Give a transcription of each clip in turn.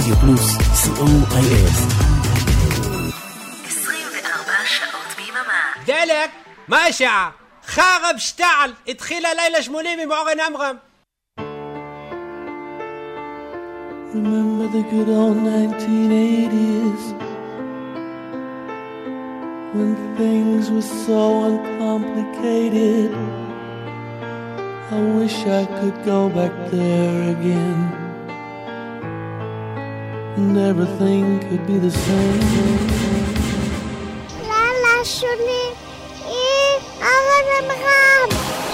רדיו פלוס, COIF. 24 שעות ביממה. דלק, מה השעה? חרב שטעל, התחיל הלילה 80 עם אורן עמרם. Remember the good old 1980s when things were so uncomplicated. I wish I could go back there again and everything could be the same. Lala Shuni, Avan Amram.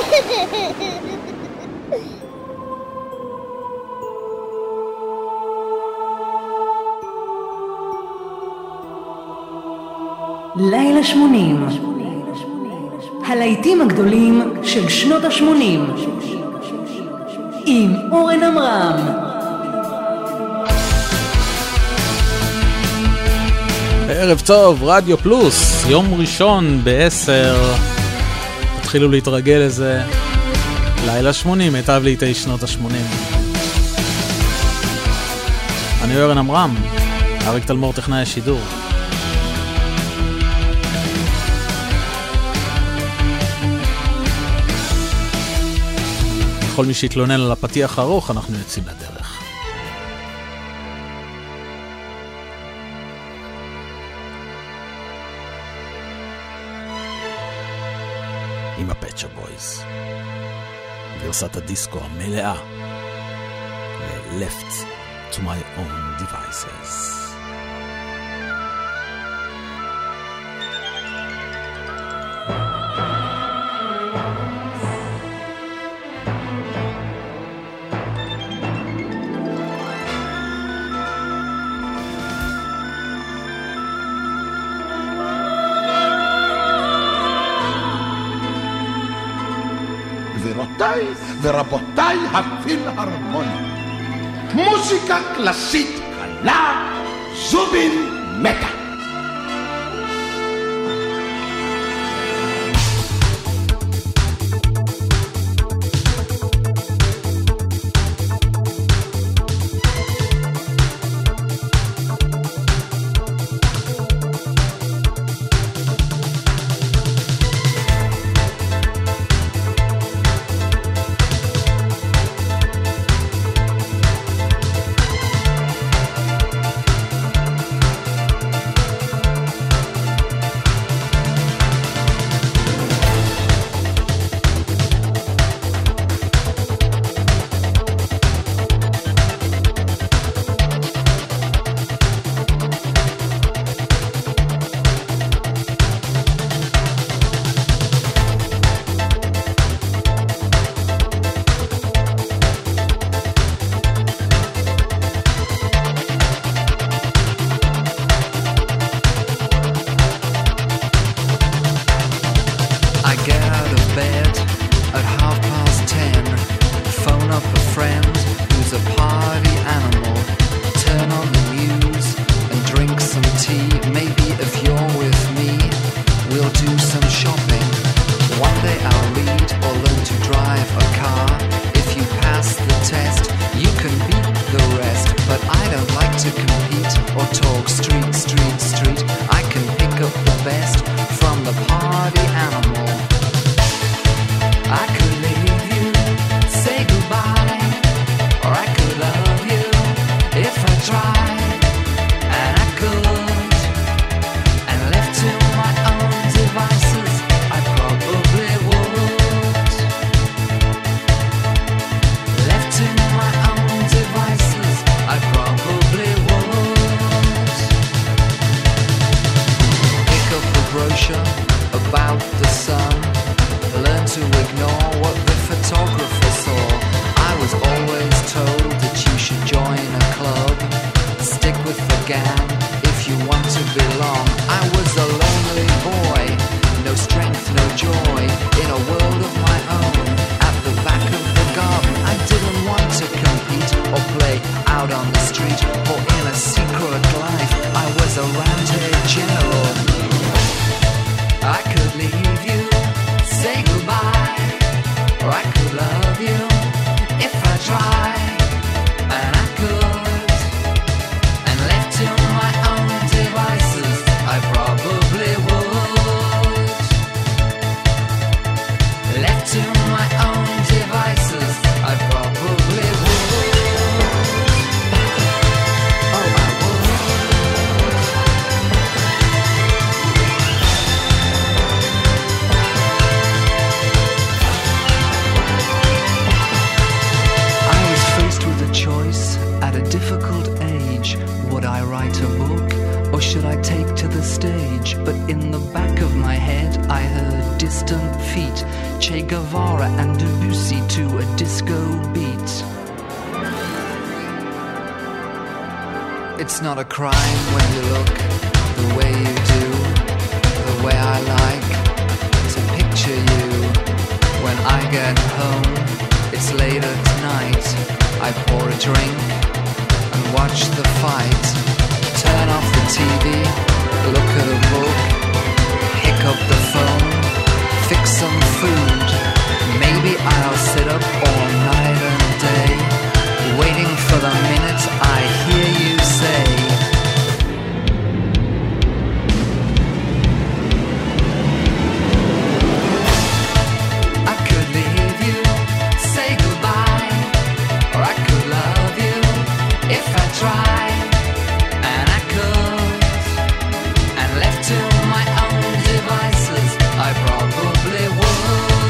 לילה 80. הלהיטים הגדולים של שנות ה-80 עם אורן עמרם. ערב טוב, רדיו פלוס, יום ראשון ב-10. תתחילו להתרגל לזה. לילה 80, מיטב לעיתי שנות ה-80. אני אורן עמרם, אריק תלמור טכנאי השידור. כל מי שהתלונן על הפתיח הארוך, אנחנו יוצאים לדרך. עם הפט שופ בויז. גרסת הדיסקו המלאה. ל-Left to my own devices. גבירותיי ורבותיי הפילהרמונים, מוזיקה קלאסית קלה, זובין מתה. I could leave you, say goodbye. my own devices, I probably would. Oh, I would. I was faced with a choice at a difficult age. Would I write a book, or should I take to the stage? But in the back of my head I heard distant feet, Che Guevara and Debussy to a disco beat. It's not a crime when you look the way you do, the way I like to picture you. When I get home, it's late at night, I pour a drink and watch the fight. Turn off the TV, look at a book, pick up the phone, fix some food. Maybe I'll sit up all night and day, waiting for the minute I hear you say, I could leave you, say goodbye, or I could love you if I tried. And I could, and left to my own devices, I probably would.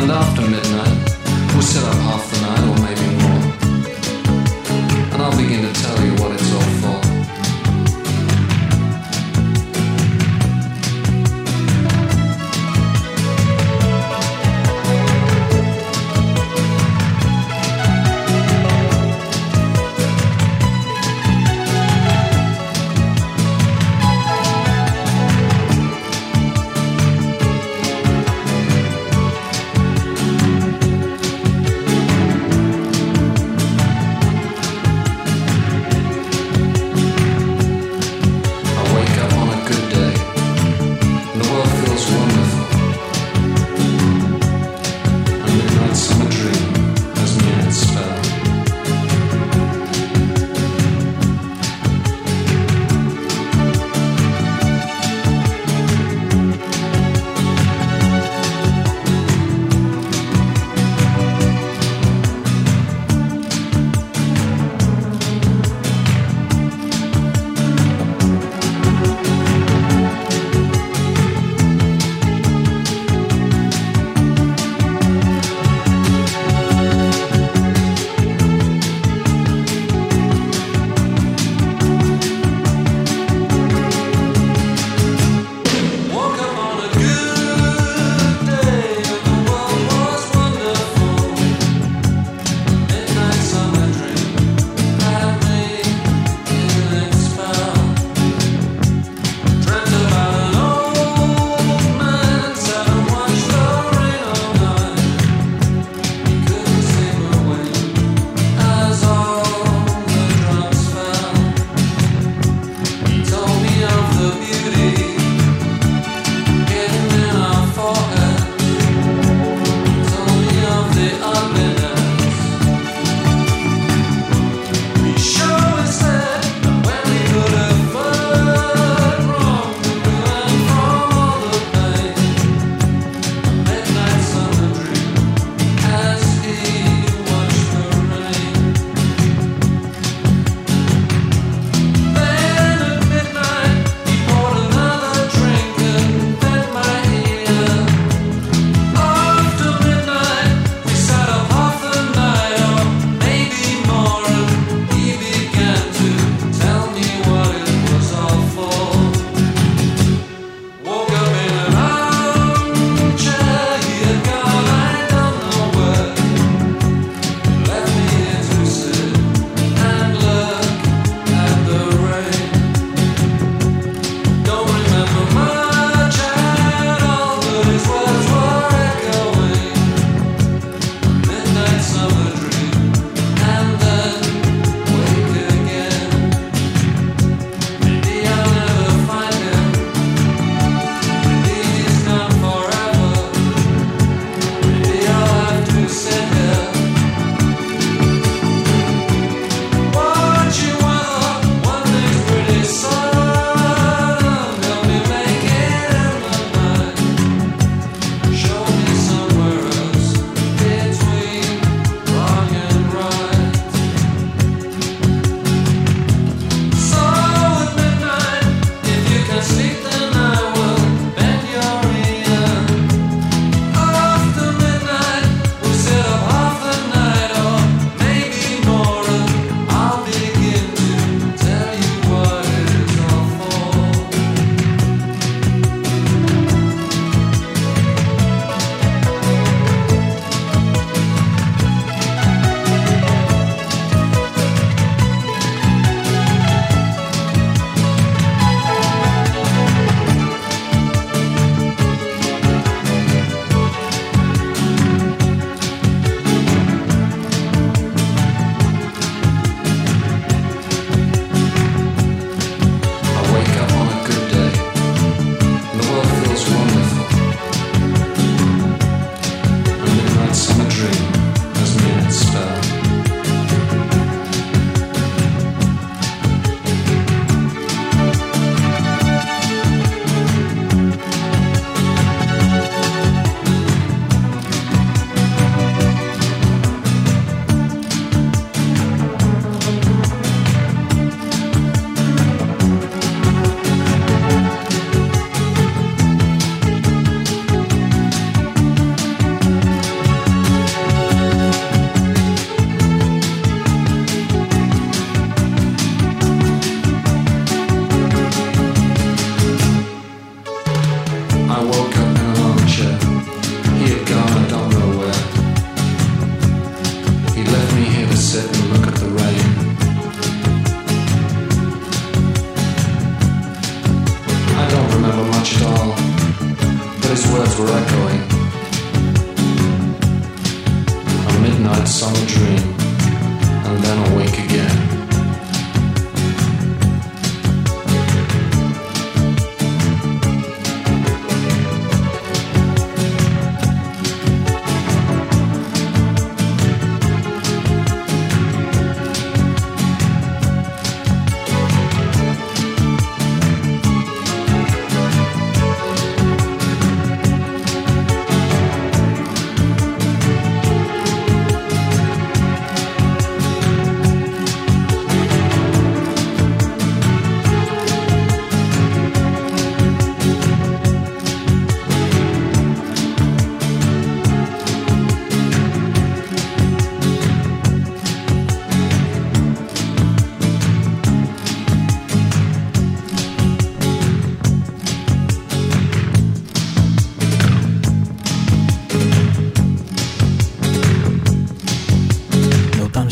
and after midnight, we'll sit up half the night or maybe more. And I'll begin to tell you what it's all for.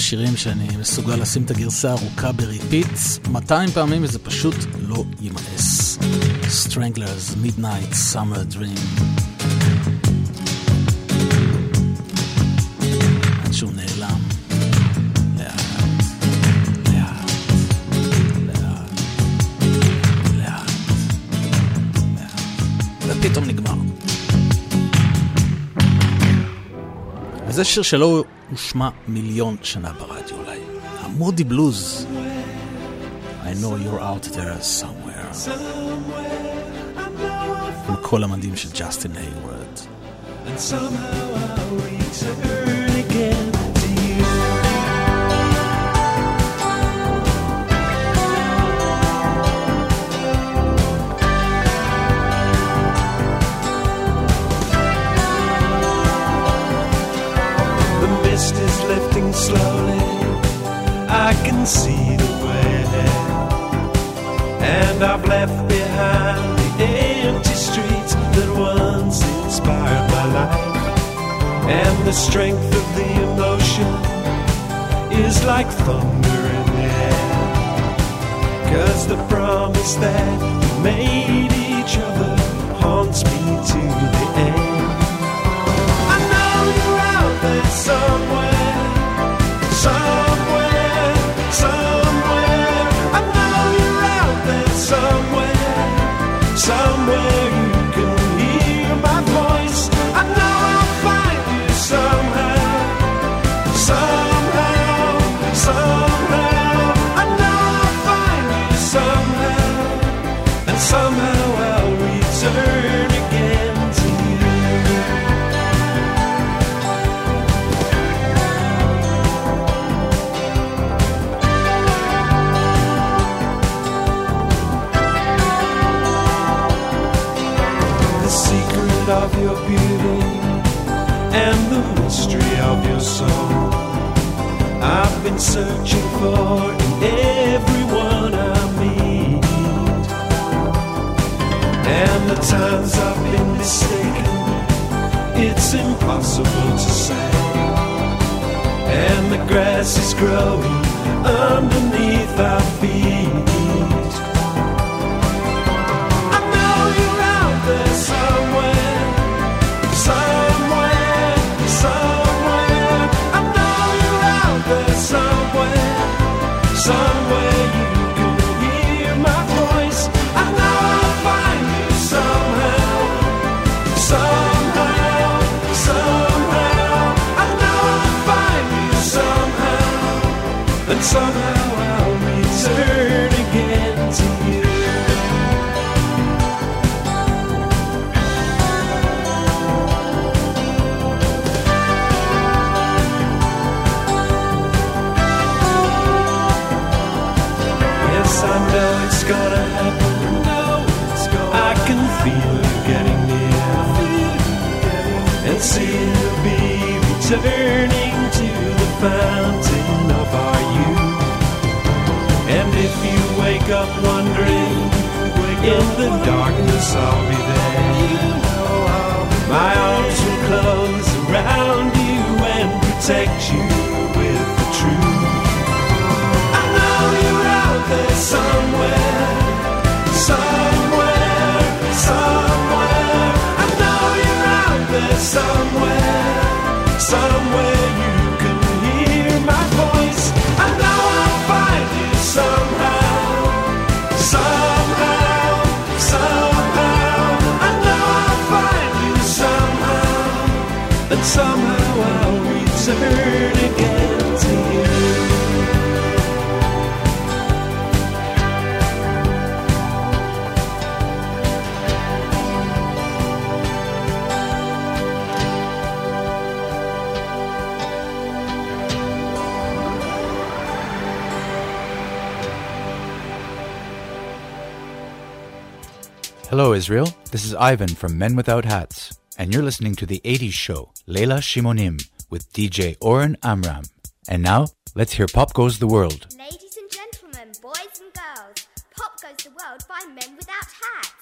שירים שאני מסוגל לשים את הגרסה הארוכה בריפיט 200 פעמים וזה פשוט לא יימאס. Stranglers, Midnight Summer Dream. עד שהוא נעלם. לאט, לאט, לאט, לאט, לאט. ופתאום נגמר. וזה שיר שלא הושמע מיליון שנה ברדיו אולי. המודי בלוז. I know you're out there somewhere. עם כל המדים של ג'סטין היוורד. And somehow I'll return again to you. The mist is lifting slowly, I can see the way ahead, and I've left behind the empty streets that once inspired my life, and the strength of the emotion is like thunder in the air, 'cause the promise that we made each other haunts me to the end. I know you're out there somewhere, somewhere, somewhere. I know you're out there somewhere, somewhere you can hear my voice. I know I'll find you somehow, somehow, somehow. I know I'll find you somehow, and somehow I'll return again to you. The secret of your beauty and the mystery of your soul I've been searching for in everyone I meet, and the times I've been mistaken, it's impossible to say, and the grass is growing underneath our feet. I know you're out there somewhere, somewhere, somewhere. I know you're out there somewhere, somewhere you can hear my voice. I know I'll find you somehow, somehow, somehow. I know I'll find you somehow, and somehow I'll return again to you. Yes, I know it's gonna happen. I can feel it getting near, and seem to be returning to the fountain of our youth. And if you wake up wondering, in the darkness I'll be there. My arms will close around you and protect you with the truth. I know you're out there somewhere, somewhere, somewhere. I know you're out there somewhere, somewhere you can hear my voice. I know I'll find you somehow, somehow, somehow. I know I'll find you somehow, and somehow I'll return again to you. Hello, Israel. This is Ivan from Men Without Hats, and you're listening to the 80s show, Leila Shimonim, with DJ Oren Amram. And now, let's hear Pop Goes the World. Ladies and gentlemen, boys and girls, Pop Goes the World by Men Without Hats.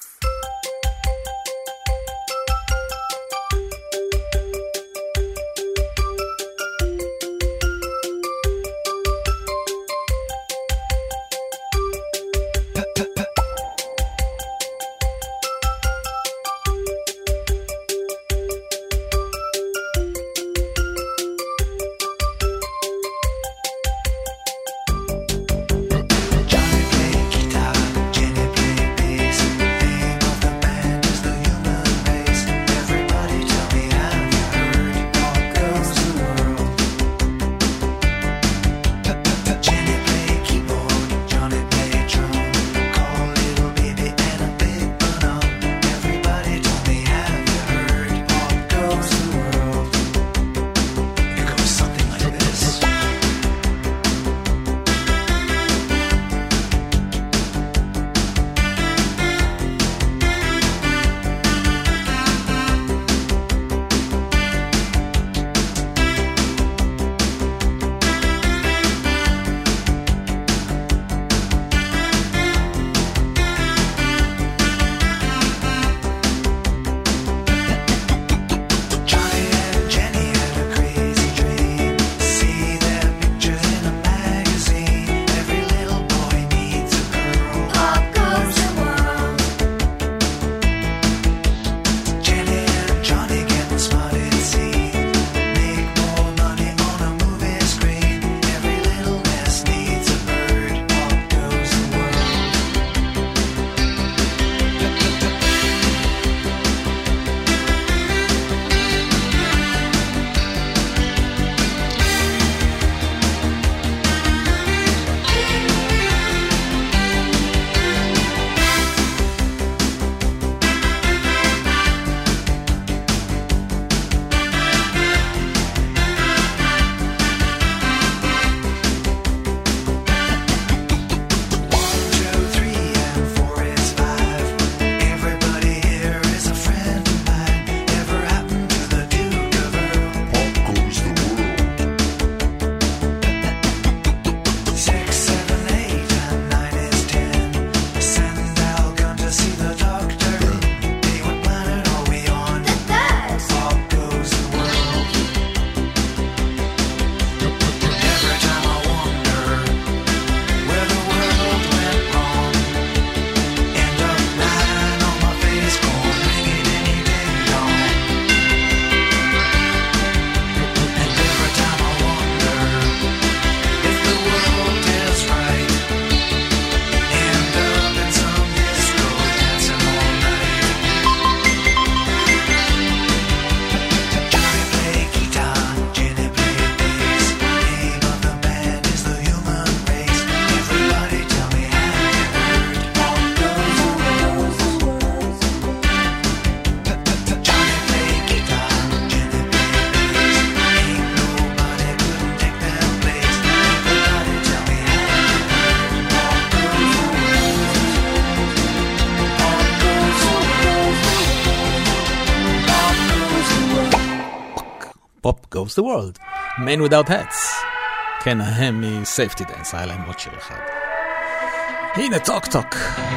Pop Goes the World. Men Without Hats. כן, הם מ-Safety Dance, היה להם עוד שיר אחד. הנה טוק טוק.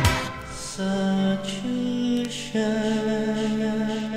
Such a shame.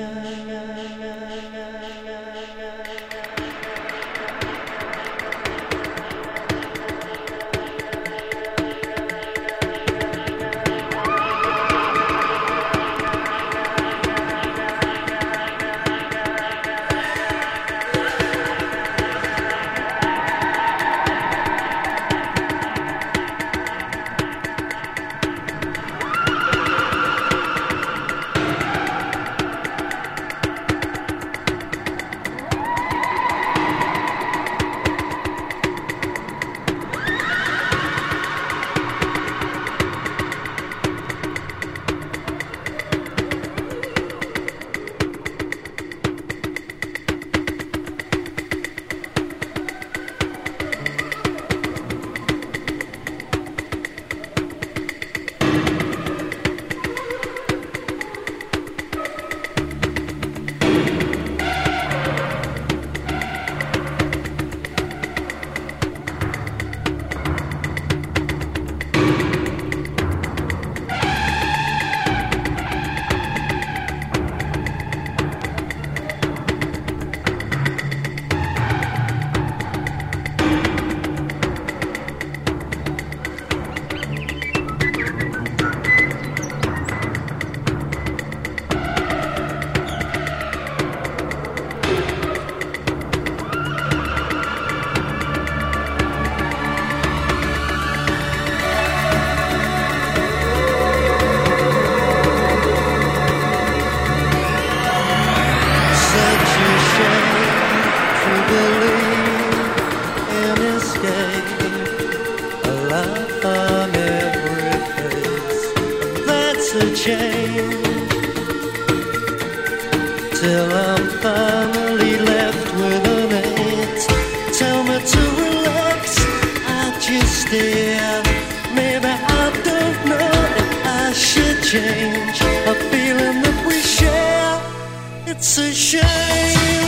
Till I'm finally left with an eight. Tell me to relax, I just stare. Maybe I don't know if I should change a feeling that we share. It's a shame.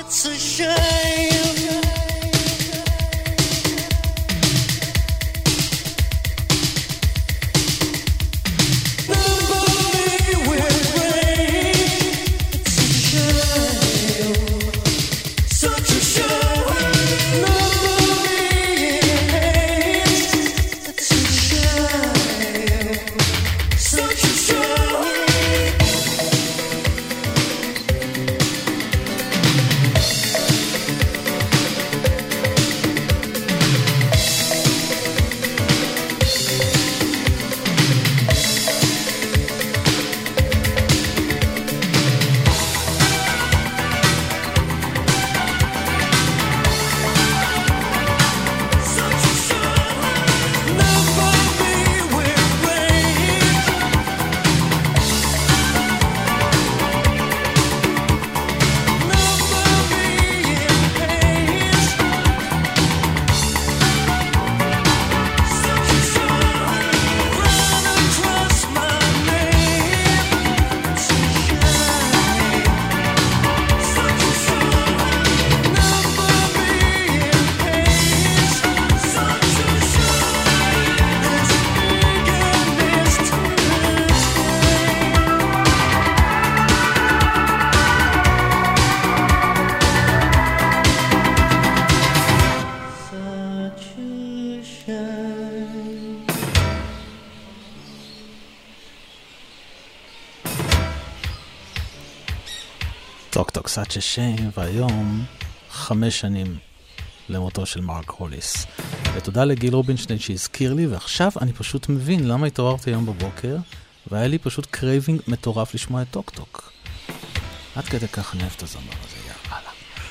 It's a shame. Such a shame, והיום 5 שנים למותו של מרק הוליס. ותודה לגיל רובינשטיין שהזכיר לי, ועכשיו אני פשוט מבין למה התעוררתי היום בבוקר, והיה לי פשוט קרייבינג מטורף לשמוע את טוק טוק. עד כדי כך אני אוהב את הזמר הזה, יאללה.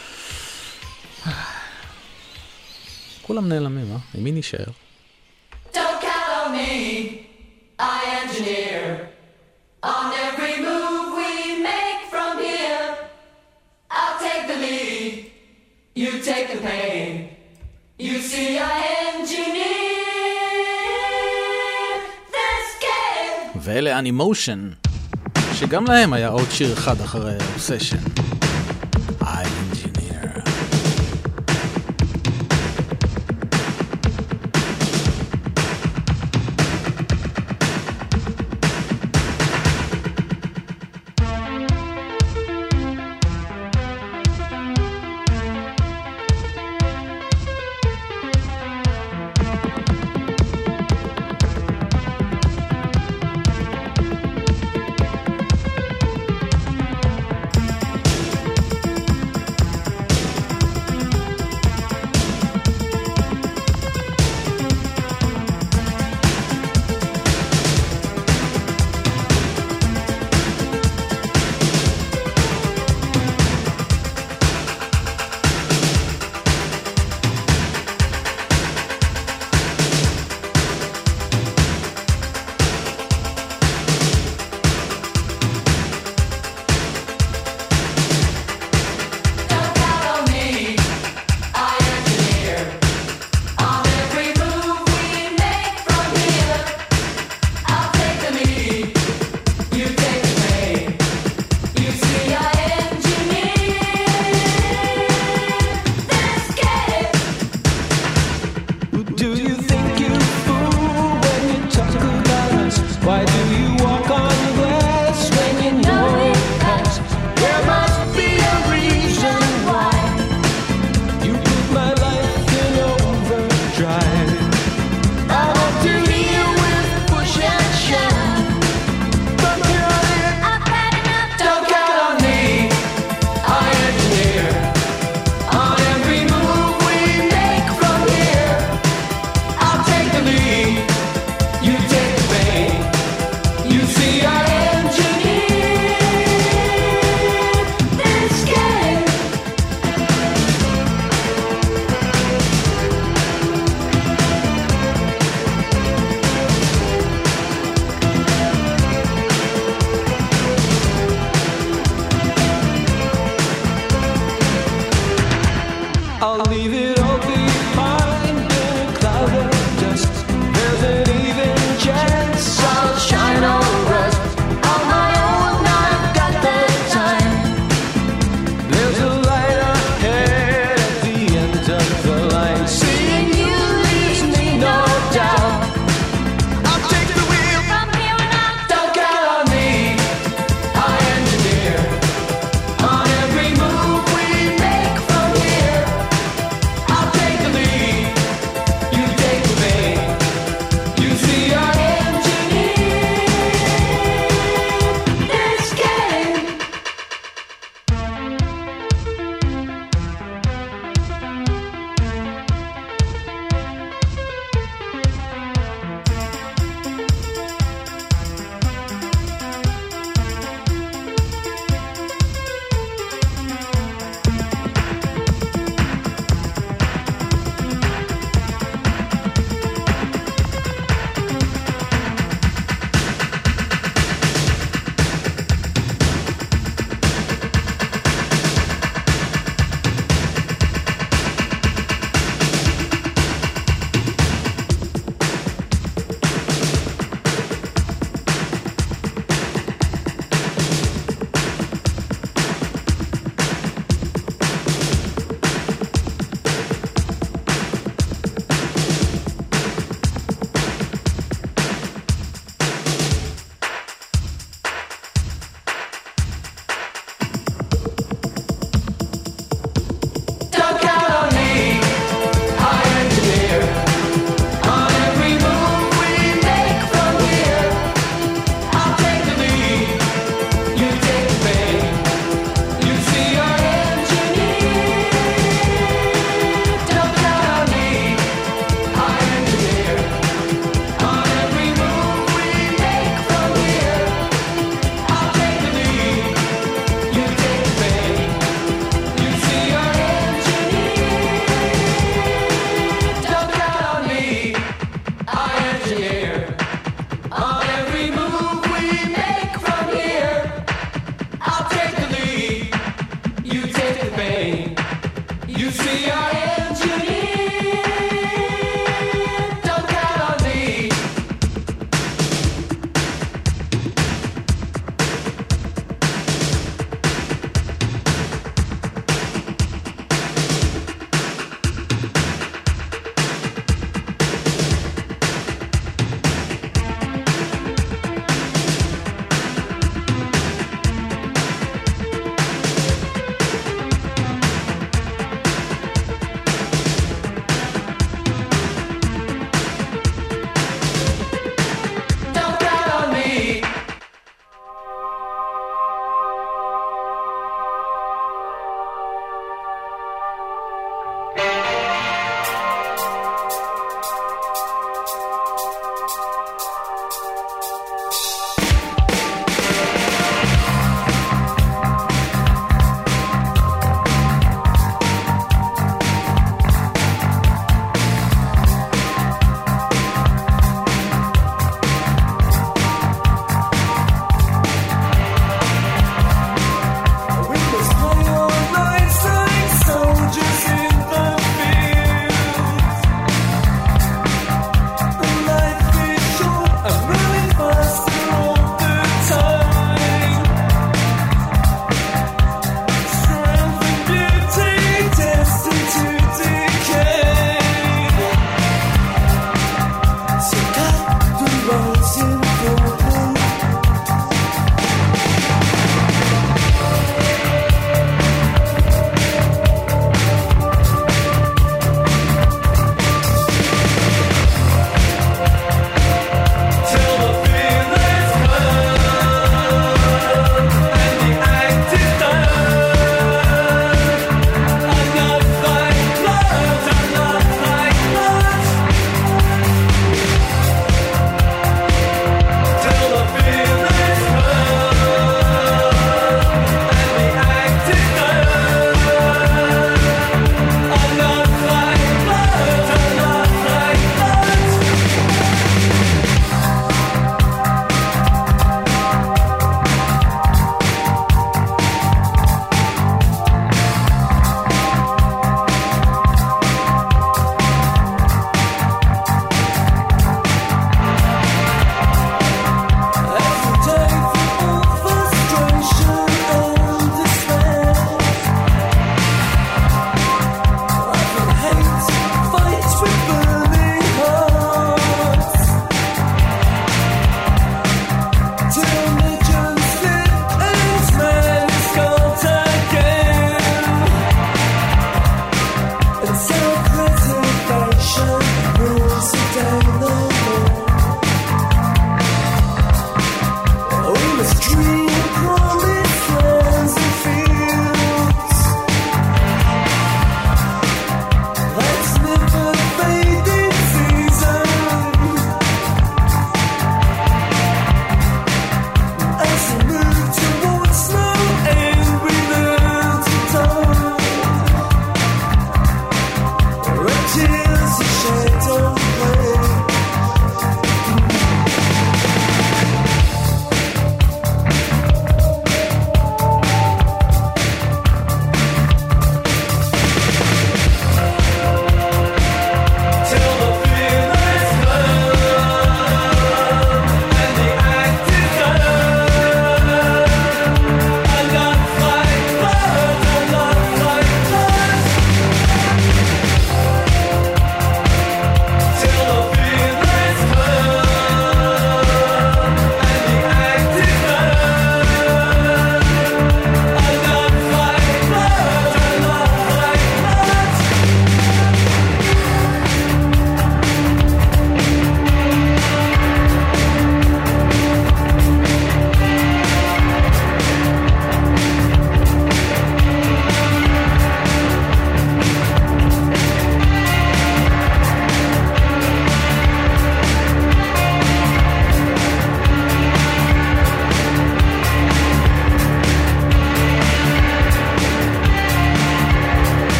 כולם נעלמים, אה? עם מי נשאר? Don't count on me, I engineer on every move we make from here. I'll take the lead, you take the pain. You see I engineer this game. ואלה אנימושן, שגם להם היה עוד שיר אחד אחרי אובסשן. I engineer. You see, I engineer. Don't count on me.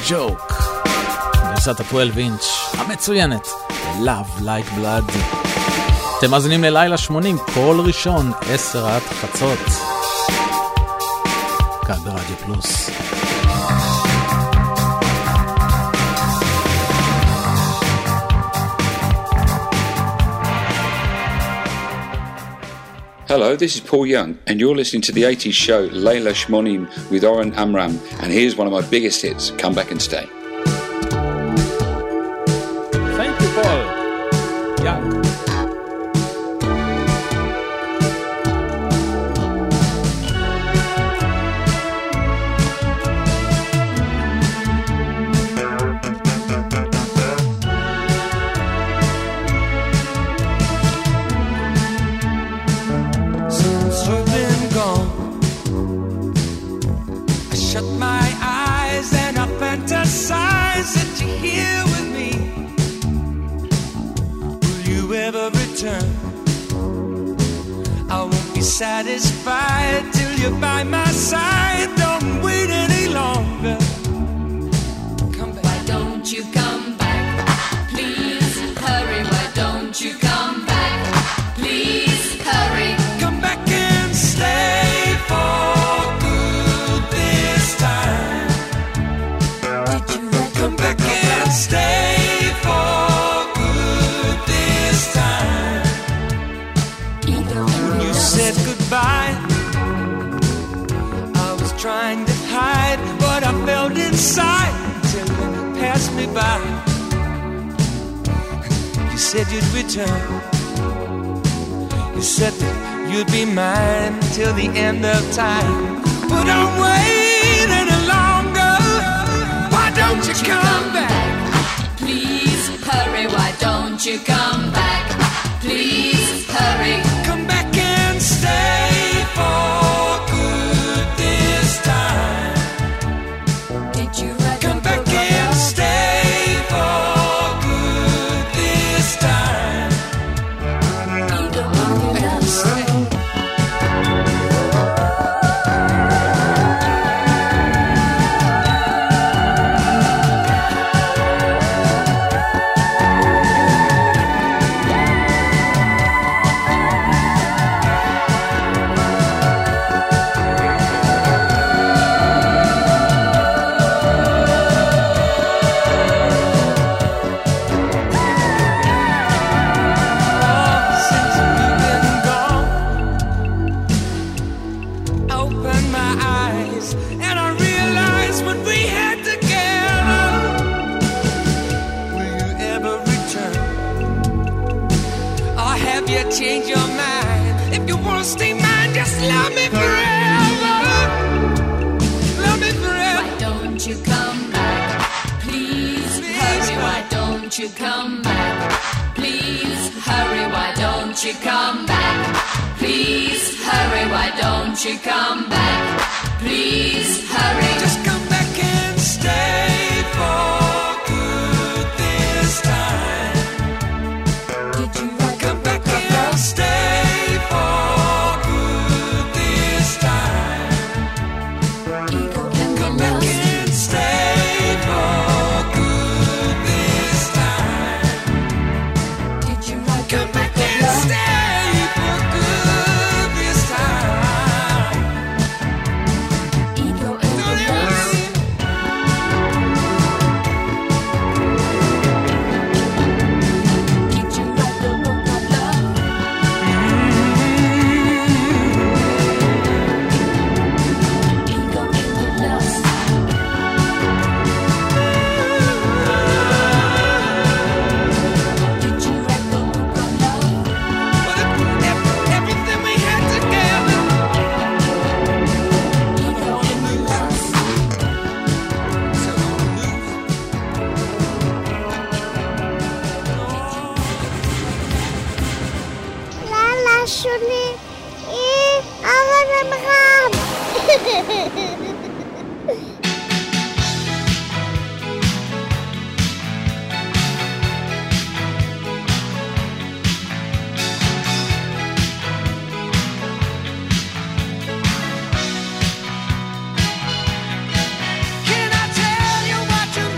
ג'וק. גרסת ה-12 אינץ' המצוינת, Love Like Blood. אתם מאזינים ללילה 80, כל ראשון, 10 עד חצות. כאן ברדיו פלוס. Hello, this is Paul Young, and you're listening to the 80s show Leila Shmonim with Oren Amram, and here's one of my biggest hits, Come Back and Stay. Thank you, Paul Young. Satisfied till you're by my side. Don't wait any longer. Come back. Why don't you come back? Please hurry. Why don't you come back? Please hurry. Come back and stay for good this time. Did you come back and stay for good this time? You said goodbye. I was trying to hide what I felt inside till you passed me by. You said you'd return. You said that you'd be mine till the end of time. But don't wait any longer. Why don't you come back? Please hurry. Why don't you come back? Please hurry. Come back and stay for good this time. Did you write come back and stay for good this time? Change your mind. If you wanna stay mine, just love me forever. Love me forever. Why don't you come back? Please hurry. Why don't you come back? Please hurry. Why don't you come back? Please hurry. Why don't you come back? Please hurry. Just come back and stay for good this time. Did you come back and stay for good this time? Come back and stay for good this time. Did you come back and stay for good this time? Ego and Can I tell you what you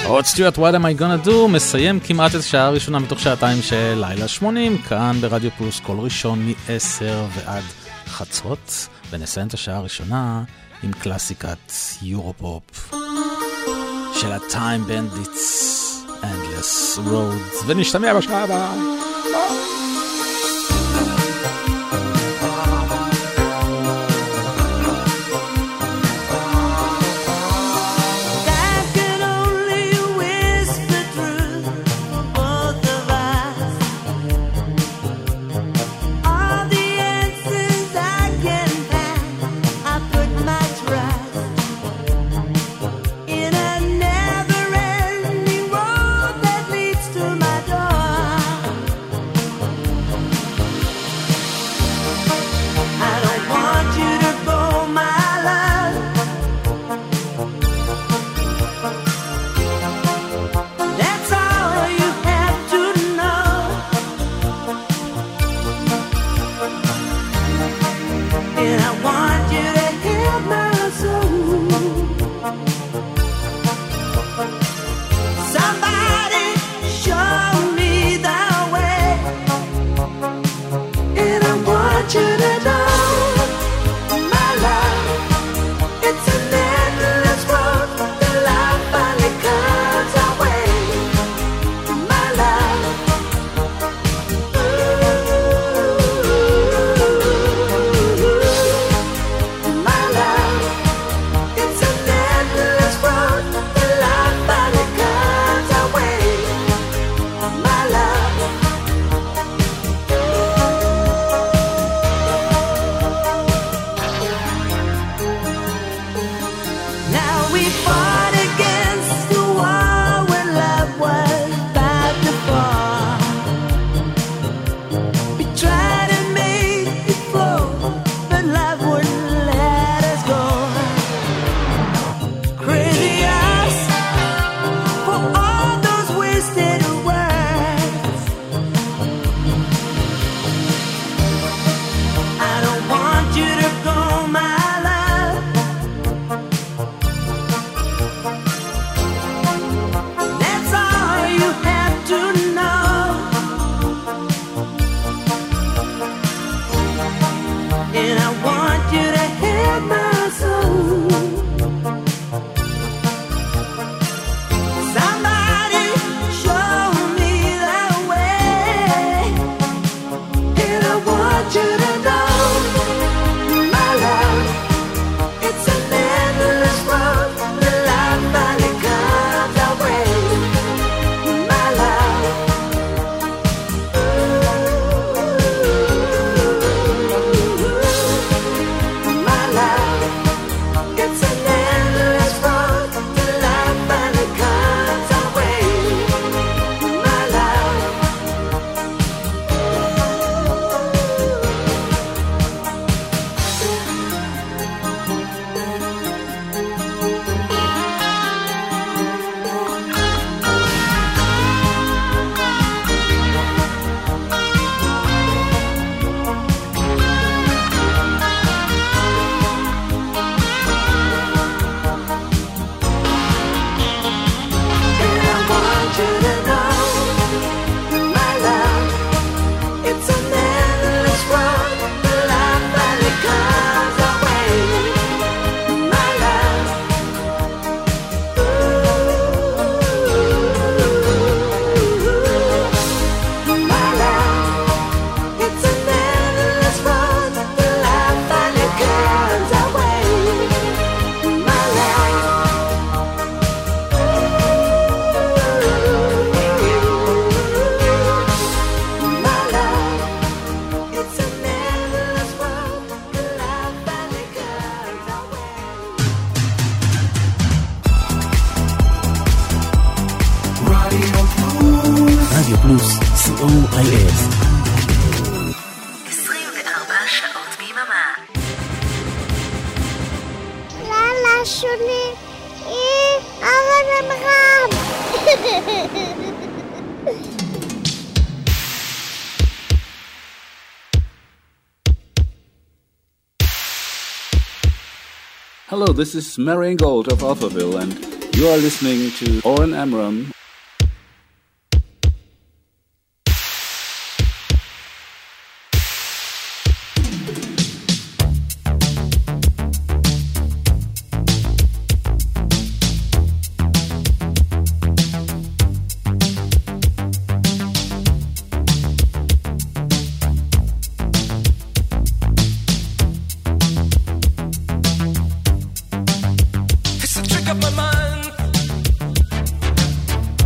רוד סטיוארט, What am I gonna do? מסיים כמעט את השעה הראשונה מתוך שעתיים של לילה 80, כאן ברדיו פלוס, כל ראשון מ-10 ועד חצות, ונסיים את השעה הראשונה עם קלאסיקת יורופופ של ה-Time Bandits, Endless Roads, ונשתמע בשעה הבאה. רדיו פלוס, COIF. 24 שעות ביממה. לילה שוני, אורן עמרם. Hello, this is Marian Gold of Alphaville, and You are listening to Oren Amram. It's a trick of my mind.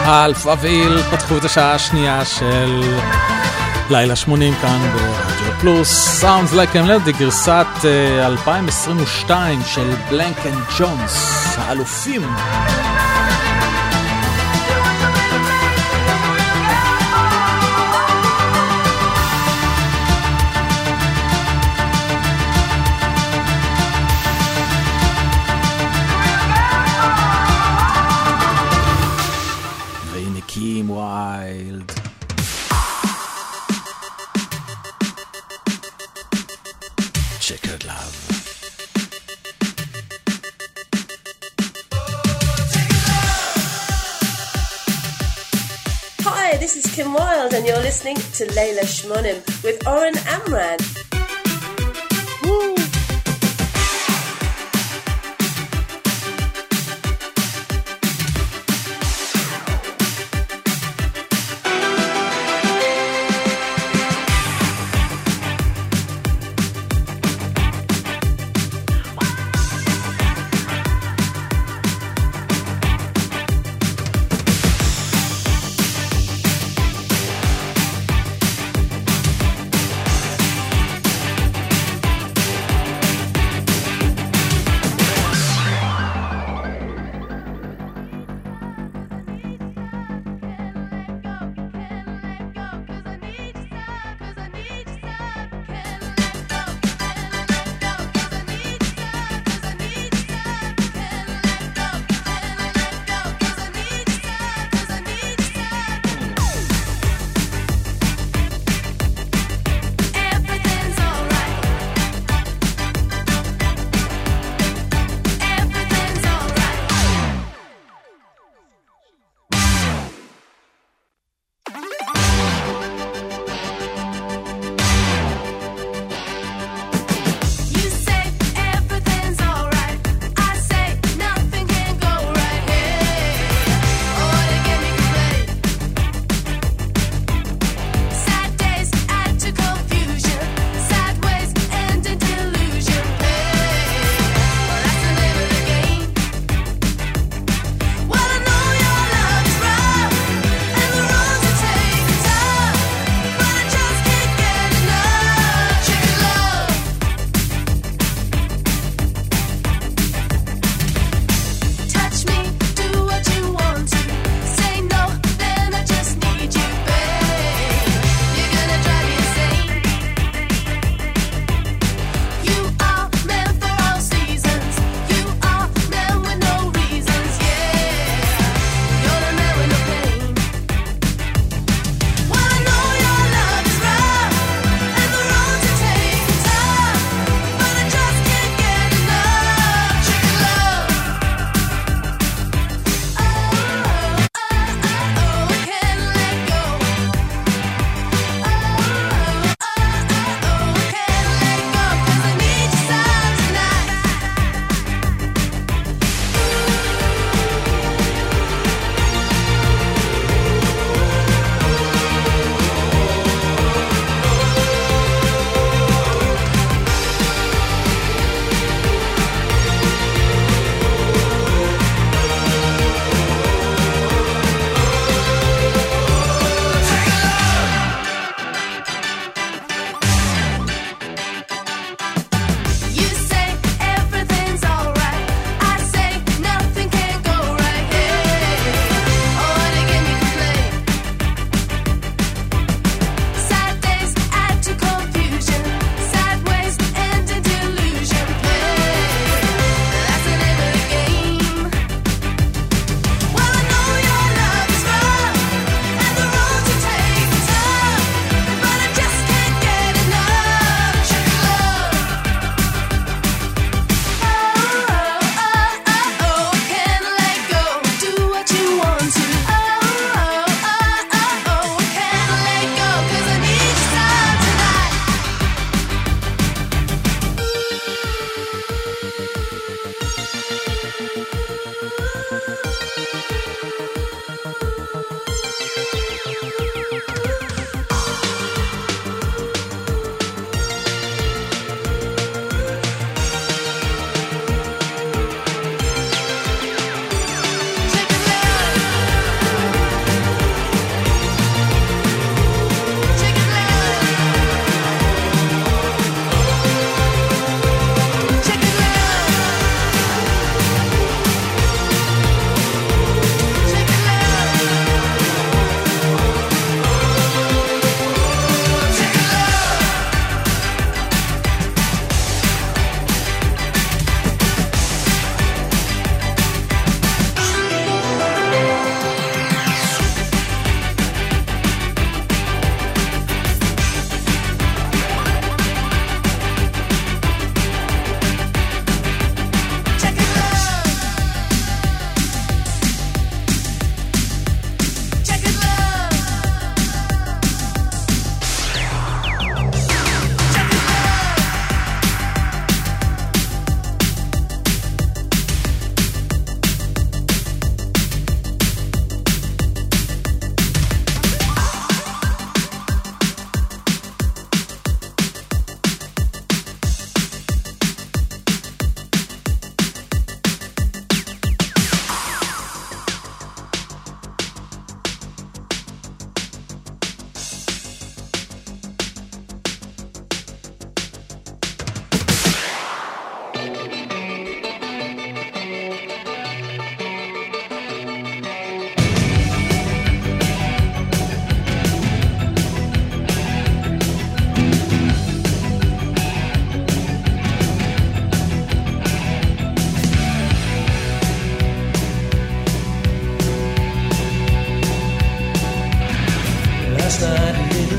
אלפא ואיל פתחו את השעה השנייה של לילה 80 כאן ברדיו פלוס. Sounds Like a Melody, גרסת 2022 של בלנק אנד ג'ונס, האלופים. Wild. Checkered love. Hi, this is Kim Wilde and you're listening to Layla Shmonim with Oren Amram.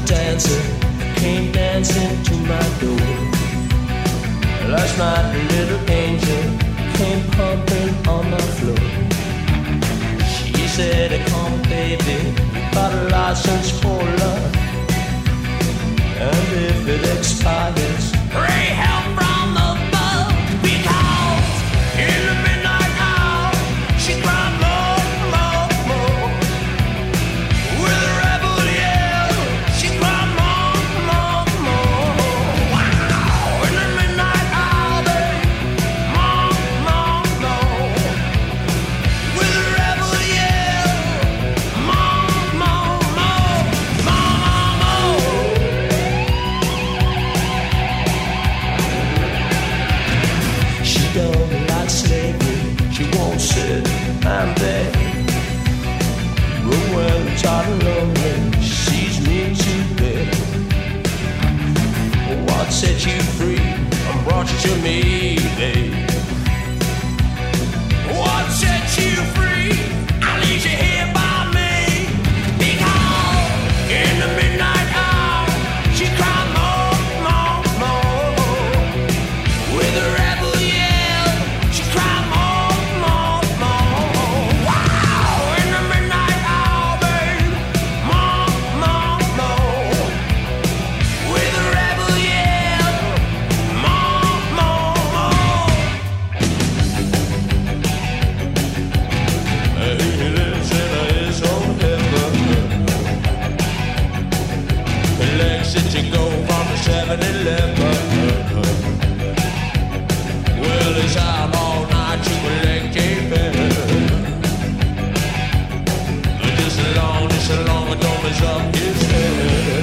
dancer came dancing to my door. Last night a little angel came pumping on my floor. She said, come baby, got a license for love, and if it expires, pray help from above. Because in the midnight hour she cried more, more, more. With a rebel yell she cried more, more, more. Wow! In the midnight hour, babe, more, more, more. With a rebel yell, more, more, more, more, more. She don't like slavery, she won't sit and beg. But when I'm tired and lonely, she sees me to bed. What set you free and brought you to me, babe? What set you free? I leave you here by me. Because in the midnight hour, she cried more, more, more. With a rebel yell, she cried more, more, more. Wow! In the midnight hour, babe, more, more, more. With a rebel yell, more, more, more. He lives in his own heaven. Legs that you go from the 7-Eleven. Well, he's out all night to collect a pen. Just as long as don't mess up his head.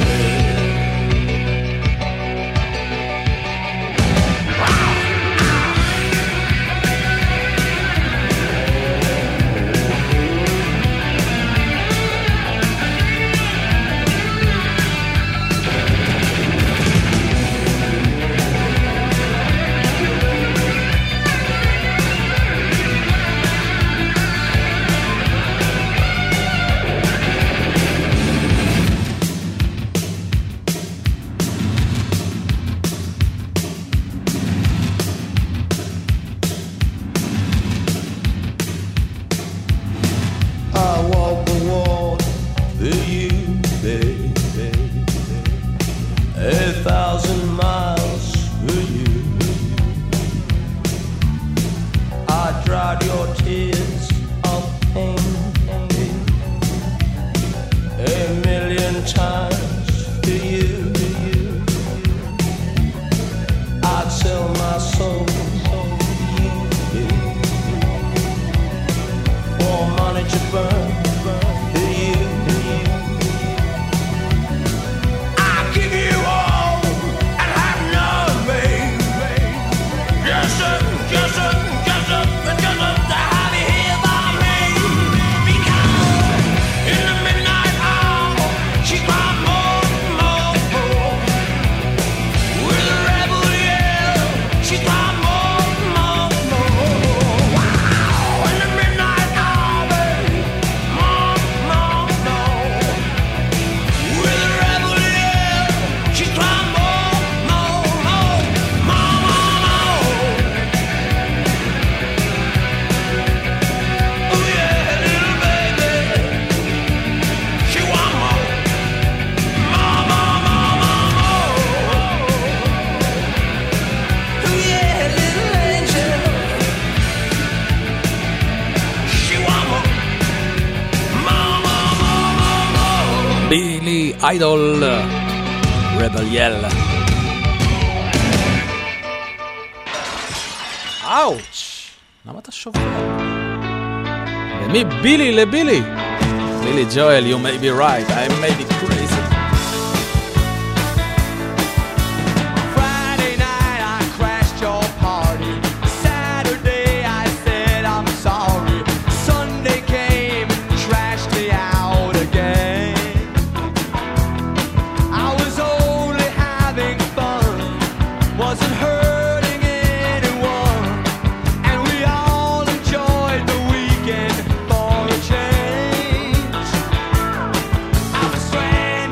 I walk the walk for you, baby. 1,000 miles for you. I dried your tears of pain 1,000,000 times for you. I'd sell my soul for you, for money to burn for you. I give you all and have none, babe. Just to have you here by me. Because in the midnight hour she cried more, more, more. With a rebel yell she cried more, more, more. Wow! In the midnight hour, babe, more, more, more. With a rebel yell she cried more, more, more, more, more. Oh yeah, little baby, she want more, more, more, more, more, more. Oh yeah, little angel, she want more, more, more, more, more, more. בילי איידול, רבל יל. אאוץ', למה אתה שובר? למי בילי? לבילי. בילי ג'ואל, you may be right, I may be crazy. Friday night I crashed your party. Saturday I said I'm sorry. Sunday came and trashed me out again. I was only having fun, wasn't hurting anyone, and we all enjoyed the weekend for a change. I was stranded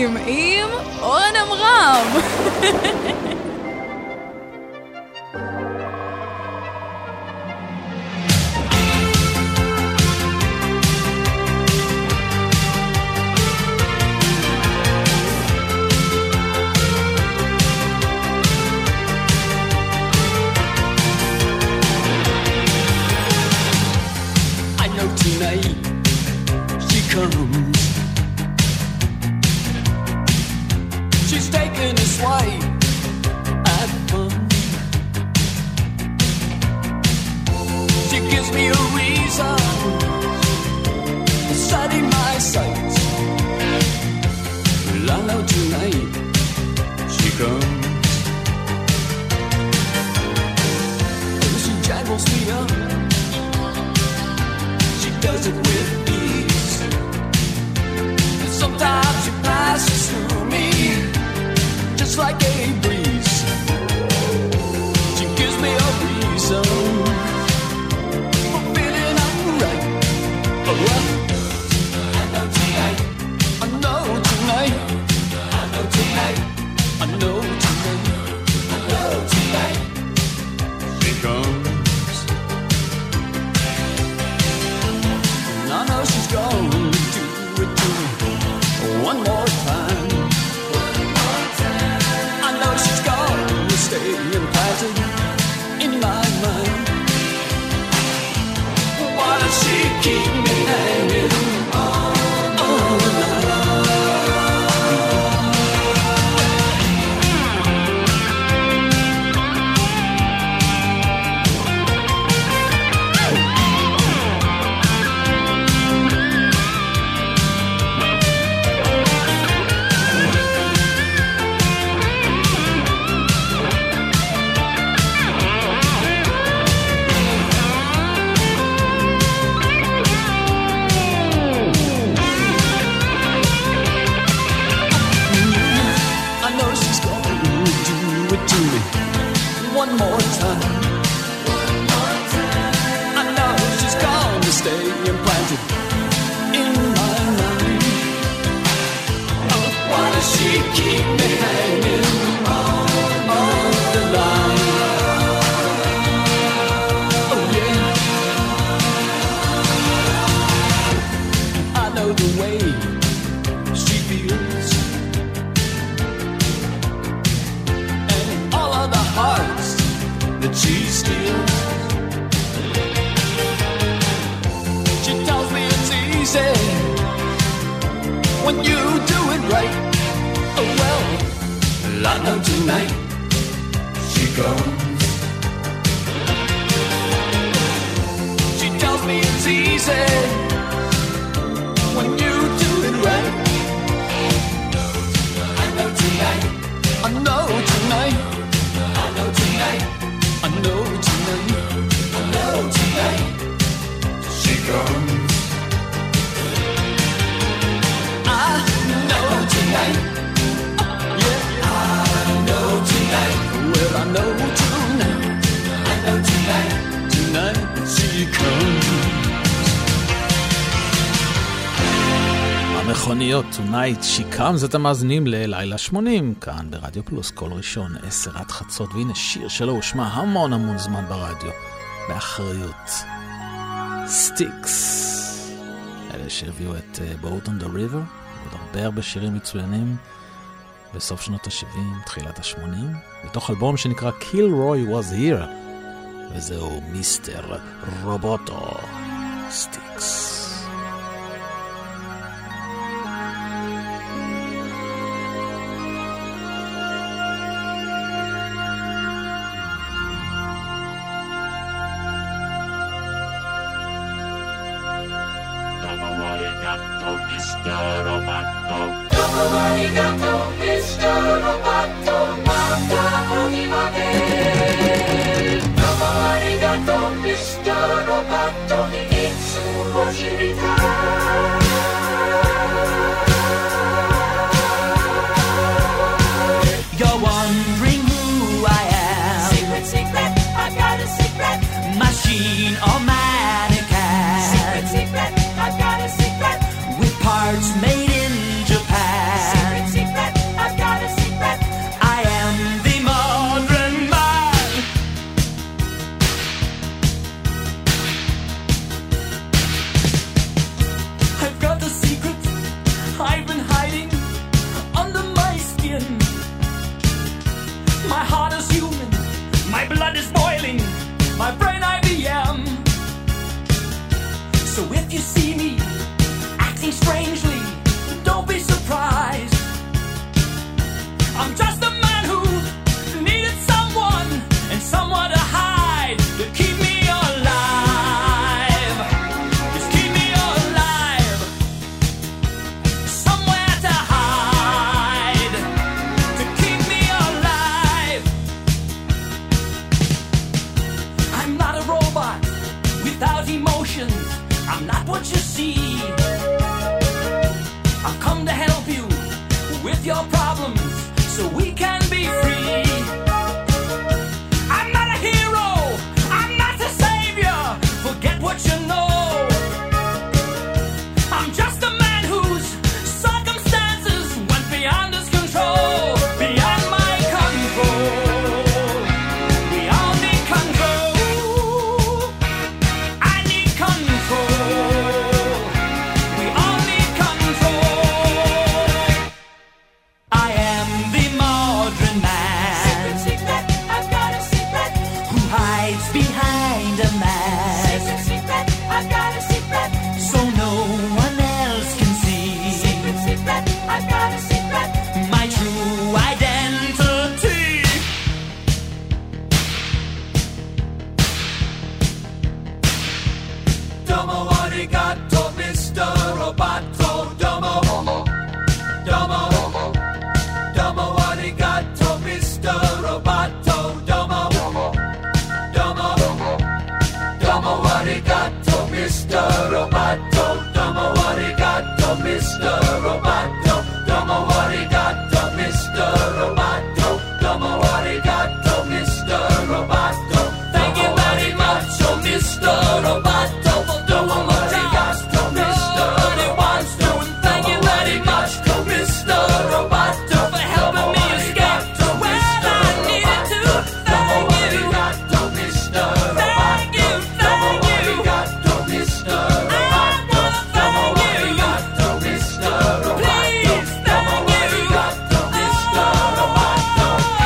השמונים עם אורן עמרם. She's taking a swipe at fun. She gives me a reason for setting my sights. Well, I know tonight she comes. Oh, she jangles me up. She does it with ease. Sometimes she passes through me just like a breeze. She gives me a reason for feeling alright. Oh, well, I know tonight. I know tonight. I know tonight. I know tonight. I know tonight. She comes. And I know she's gonna do it to me. One more time. I know she's gonna stay implanted in my mind. Why does she keep me hanging all the night? One more time. I know she's gonna stay implanted in my mind. Oh, why does she keep me hanging on the line? Oh yeah, I know the way she feels, and all of the hearts that she steals. She tells me it's easy when you do it right. Oh well, I know tonight she comes. She tells me it's easy when you do it right. I know tonight. I know tonight. I know tonight. I know tonight, I know tonight, she comes. I know tonight, yeah, I know tonight. Well, I know tonight, I know tonight, tonight she comes. המכוניות, Tonight She Comes, אתם מאזינים ללילה 80, כאן ברדיו פלוס, כל ראשון, 10 עד חצות, והנה שיר שלו הושמע המון זמן ברדיו, באחריות. סטיקס, אלה שהביאו את Boat on the River, ועוד הרבה שירים מצוינים, בסוף שנות ה-70, תחילת ה-80, מתוך אלבום שנקרא Kilroy Was Here, וזהו מיסטר רובוטו, סטיקס. You're wondering who I am. Secret, secret, I got a secret. Machine or mannequin. Secret, secret, I got a secret. With parts made in Japan. Secret, secret. strangely, don't be surprised. I'm just a man who needed someone and someone to hide, to keep me alive. Just keep me alive. Somewhere to hide, to keep me alive. I'm not a robot without emotions. I'm not what you see. I've come to help you with your problems so we can be free. I'm not a hero, I'm not a savior. Forget what you know. I'm just a man whose circumstances went beyond his control, beyond my control. We all need control. I need control. We all need control. I am the modern man. Secret, I've got a secret. Who hides behind a mask. Secret, I've got a secret. So no one else can see. Secret, I've got a secret. My true identity. Domo arigato, Mr. Roboto. Domo, domo, domo arigato, Mr. Roboto. Domo, domo, domo arigato, Mr. Roboto. Domo arigato, Mr. Roboto. Domo arigato, Mr. Roboto. Domo arigato, Mr. Roboto. Thank you very much, oh Mr. Roboto. Domo arigato, Mr. Roboto. Thank you very much, oh Mr. Roboto, for helping me escape to where I needed to. Thank you, Mr. Thank you, thank you. Mr. Roboto. Thank you, Mr. Please, thank you, Mr. Roboto.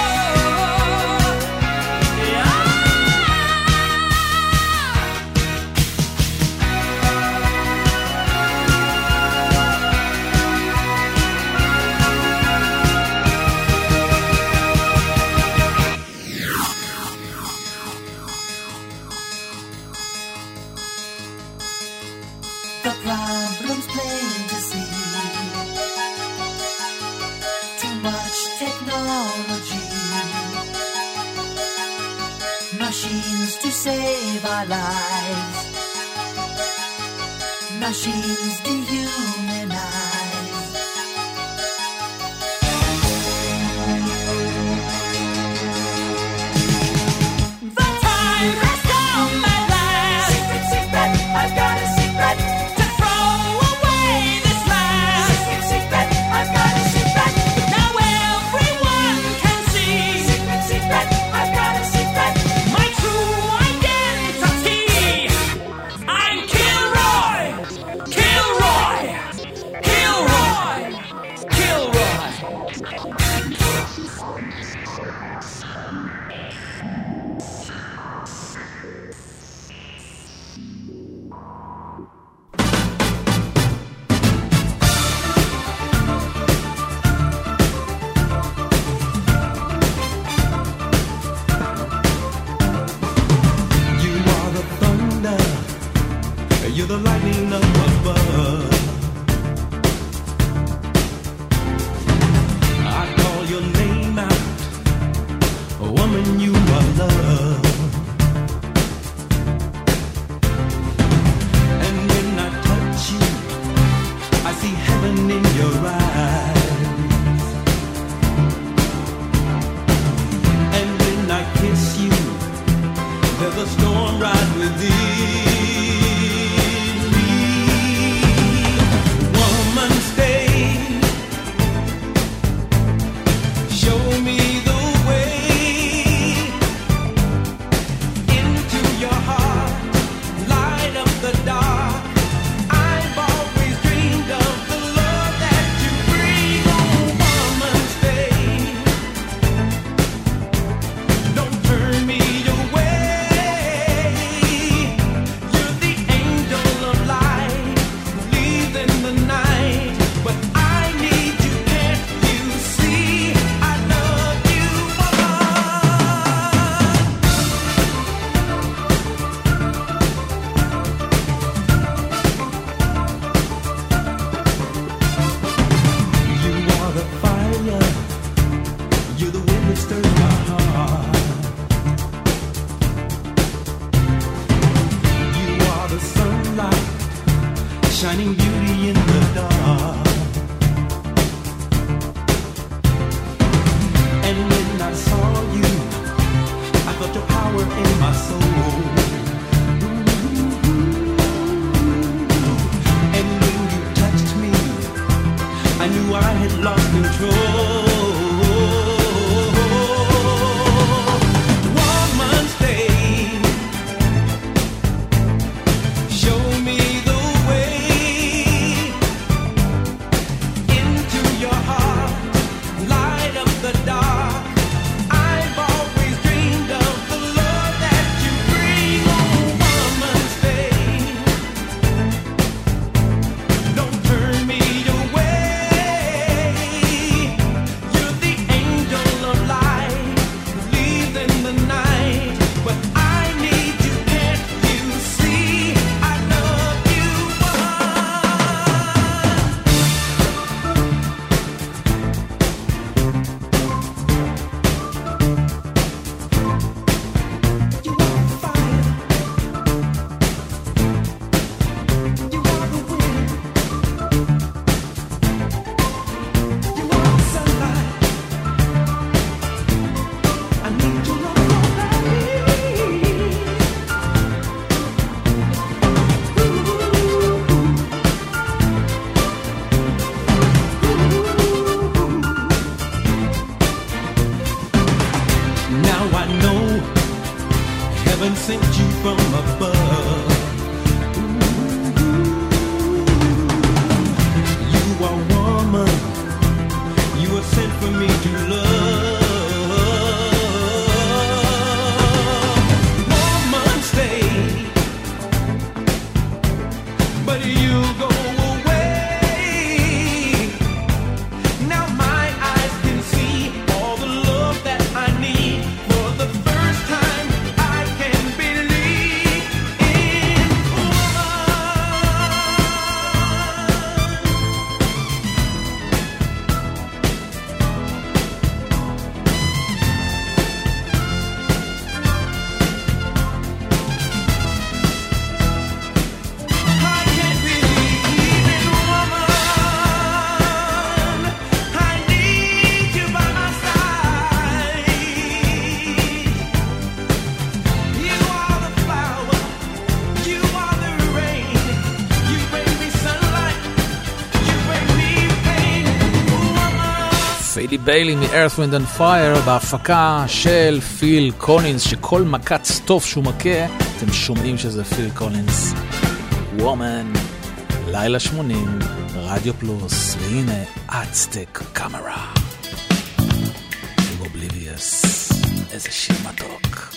The problem's plain to see. Too much technology. Machines to save our lives. Machines dehumanize. The time has come at last. Secret, secret, I've got a secret. To throw away this mask. Secret, secret, I've got a secret. Now everyone can see. Secret, secret, I've got a secret. My true identity. I'm Kilroy. Kilroy. stirs my heart. You are the sunlight, shining beauty in the dark. And when I saw you, I felt your power in my soul. And when you touched me, I knew I had lost control. Woman, stay. Show me the way into your heart. Light up the dark. I've always dreamed of the love that you bring. Oh, woman, stay. Don't turn me away. You're the angel of light who leaves in the night. But I need you, can't you see? I love you, now I know heaven sent you from above. You are woman, you were sent for me to love. Woman, stay, but you go away. Now my eyes can see all the love that I need. For the first time, I can believe in I can't believe in woman. I need you by my side. You are the flower, you are the rain. You bring me sunlight, you bring me pain. Woman. פיידי ביילי מ-Earth, Wind and Fire בהפקה של פיל קולינס, שכל מכת סטוף שהוא מכה אתם שומעים שזה פיל קולינס. וומן, לילה 80, רדיו פלוס, והנה אצטק קאמרה עם אובליביוס. איזה שיר מתוק.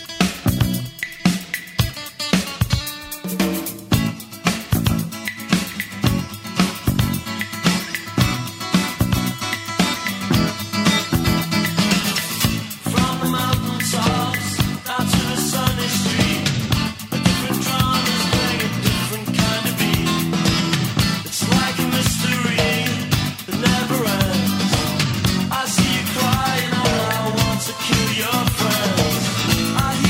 From the mountaintops down to the sunny street, a different drum is playing a different kind of beat. It's like a mystery that never ends. I see you crying, I want to kill your friends. I hear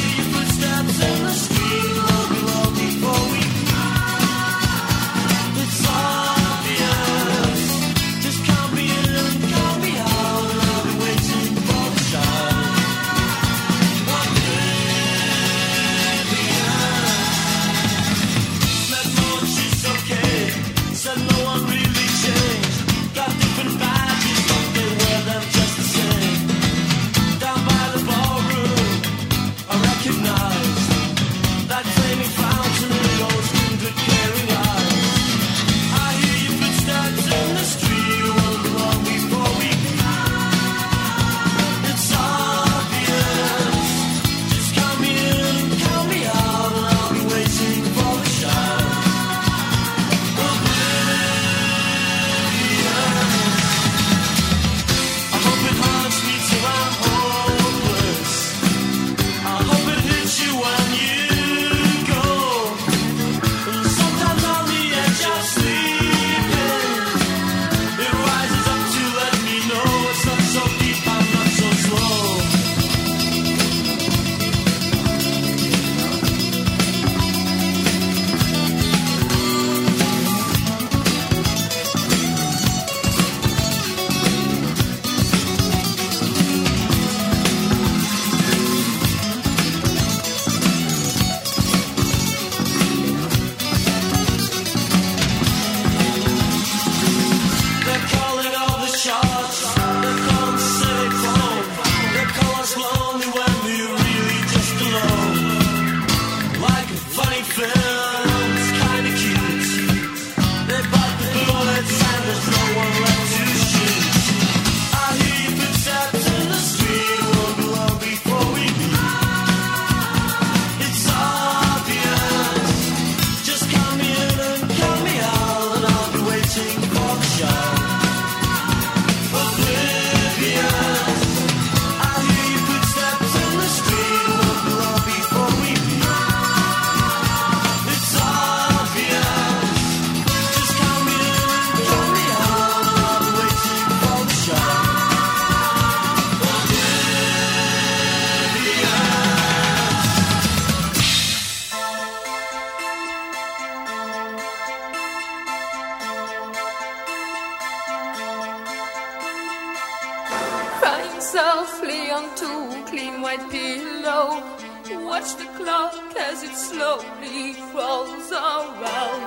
softly onto clean white pillow. Watch the clock as it slowly rolls around.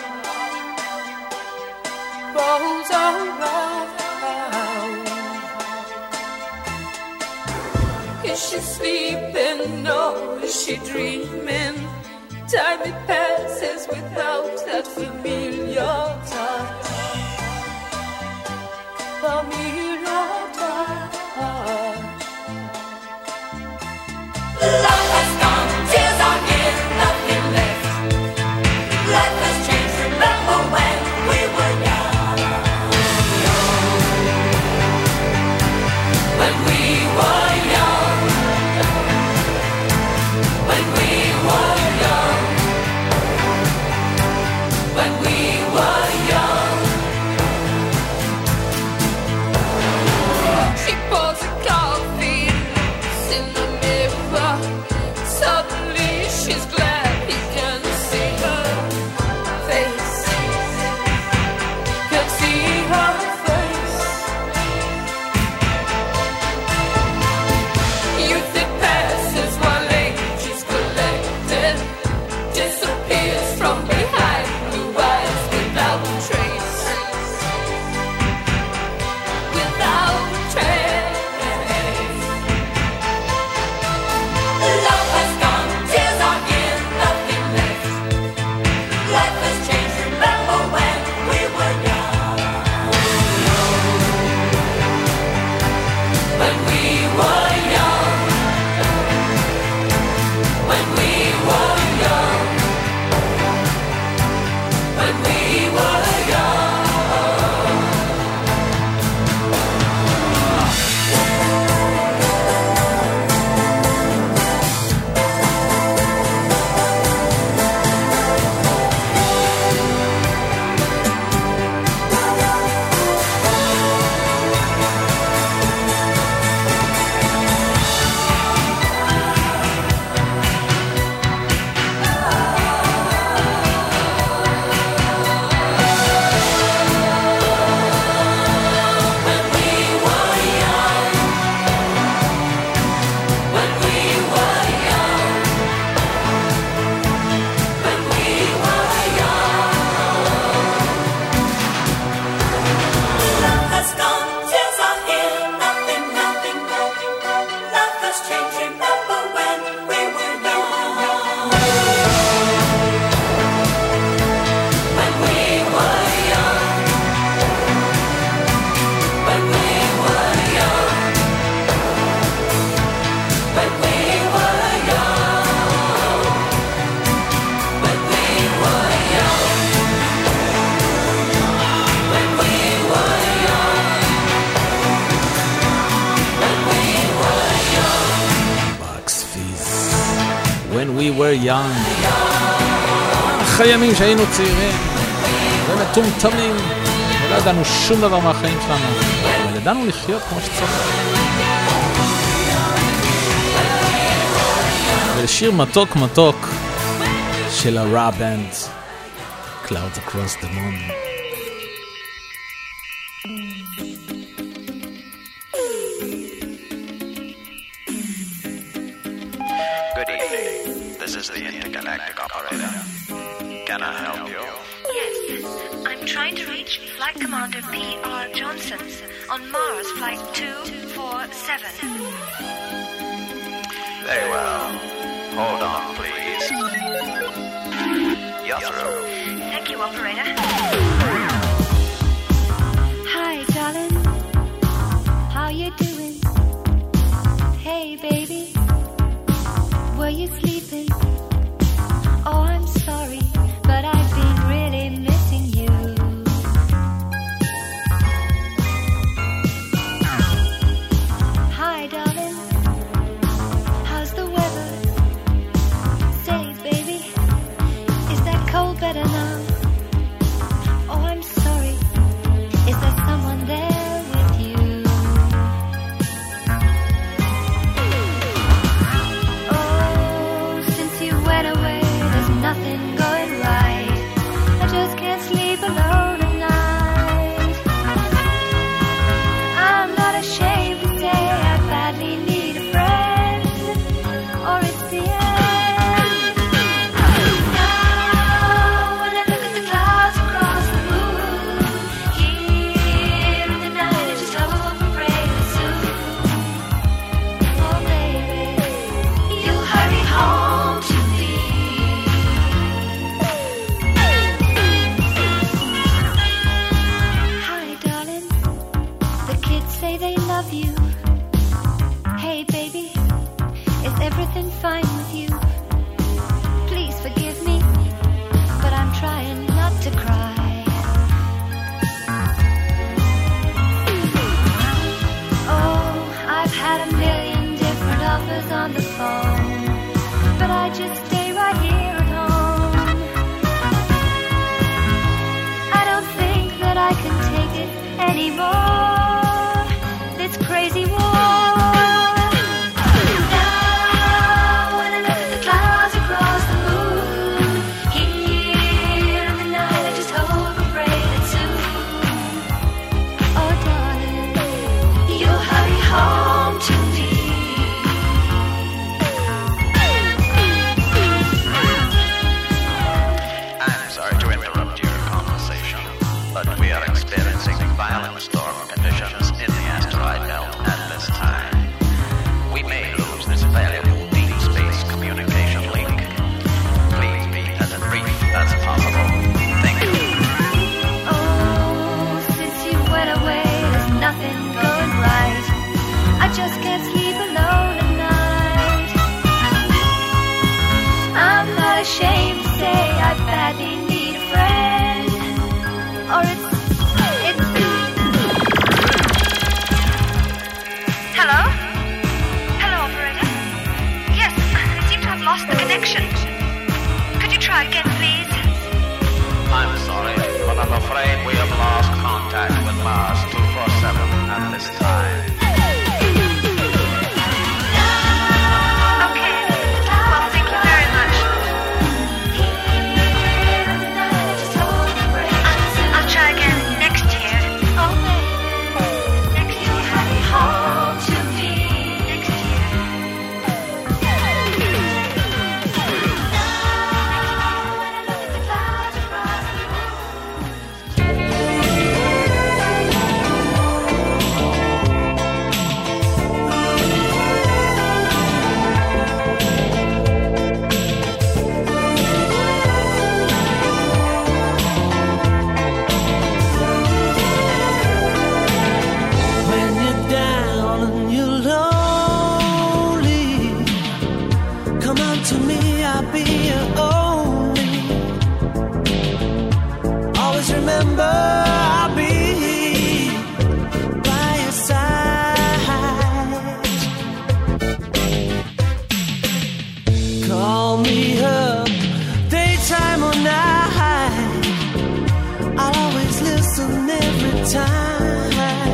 Rolls around. Is she sleeping? No, is she dreaming? Time it passes without that familiar touch. Familiar touch. Love has gone, tears are in, nothing left. Life has changed, remember when we were young. When we were young. When we were young. When we were young. She pours a coffee, looks in the mirror. Suddenly she's glad he can see her face. Can see her face. Youth it passes while age is collected. Disappears from behind blue eyes without trace. Without trace. Love has gone, tears are in, nothing left. Life has changed, remember when we were young. When we were young. When we were young. When we were young. Love has gone, tears are in, nothing, nothing, nothing. Love has changed, remember when we were young. When we were young. When we were young. When we were young. When we were young. When we were Bugs Fizz. When we were young. אחרי ימים שהיינו צעירים ומטומטמים ולא ידענו שום דבר מהחיים שלנו, אבל ידענו לחיות כמו שצריך. ולשיר מתוק מתוק של הרה בנד, Clouds Across the Moon. Good evening. This is the intergalactic operator. Can I help you? Yes, I'm trying to reach Flight Commander P.R. Johnson on Mars Flight 247. Very well. Hold on, please. You're through. Thank you, operator. Hi, darling. How you doing? Hey, baby. Were you sleeping? Oh, I'm sorry, but I've been really missing you. Hi, darling. How's the weather? Say, baby, is that cold better now? Oh, been fine with you. Please forgive me, but I'm trying not to cry. Oh, I've had a million different offers on the phone, but I just stay right here at home. I don't think that I can take it anymore, this crazy war. Violent storm conditions in the asteroid belt at this time. We may lose this valuable deep space communication link. Please be as brief as possible. Thank you. Oh, since you went away, there's nothing going right. I just can't sleep alone at night. I'm not ashamed to say I badly need a friend, or it's Hello? Hello, operator? Yes, I seem to have lost the connection. Could you try again, please? I'm sorry, but I'm afraid we have lost contact with Mars 247 at this time. Okay. Well, thank you very much. I'll try again next year. Oh, next year. Home to me. Next year. When you're down and you're lonely, come on to me, I'll be your only. Always remember, I'll be by your side. Call me up, daytime or night, I'll always listen every time.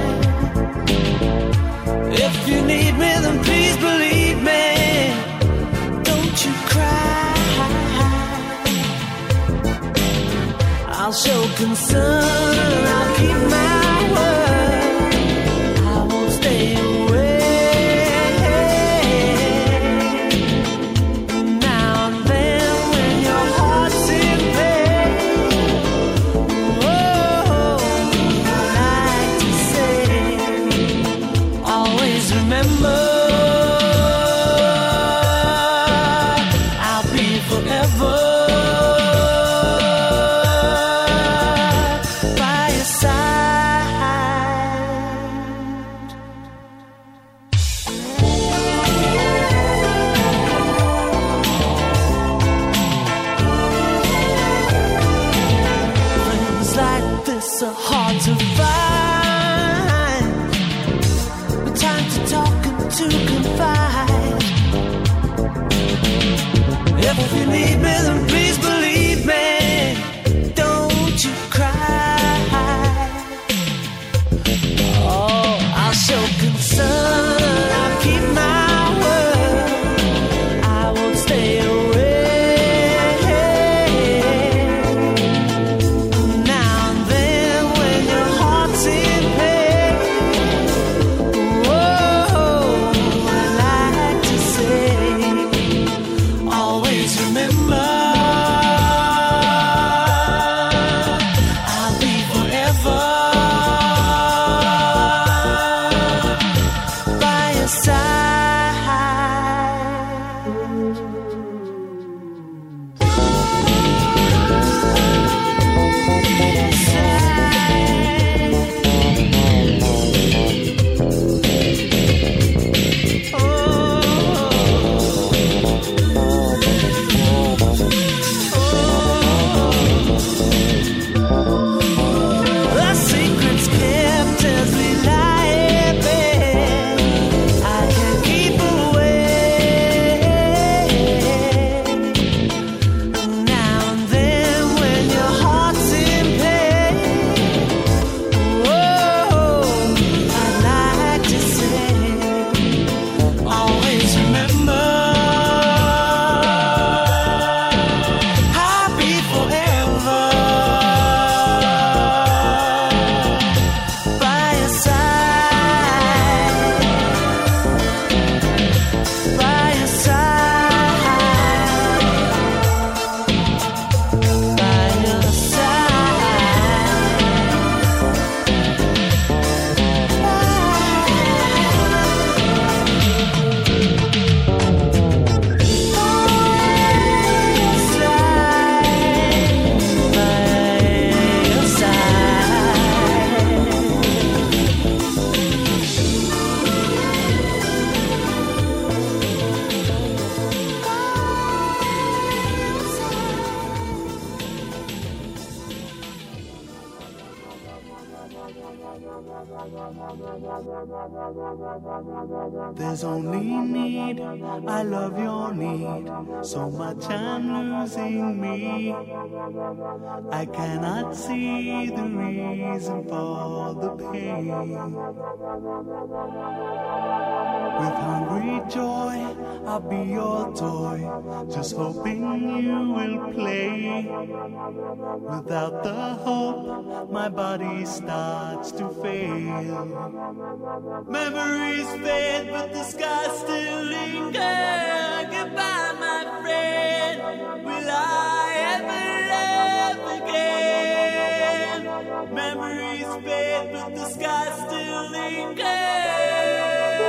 If you need me, then please believe me. Don't you cry. I'll show concern. I'll keep my word. I won't stay away. Now and then, when your heart's in pain, oh, I like to say, always remember, I'll be forever by your side. Friends like this are hard to find. The time to talk and to confide. If you need me, then please believe me. Don't you cry. Oh, I'll show concern. I'll keep my word. I won't stay away. Now and then, when your heart's in pain, oh, I like to say, always remember, I'll be forever by your side. There's only need, I love your need, so much I'm losing me. I cannot see the reason for the pain. With hungry joy, I'll be your toy, just hoping you will play. Without the hope, my body starts to fail. Memories fade, but the sky still lingers. Goodbye, my friend. Will I ever love again? Memories fade, but the sky still lingers.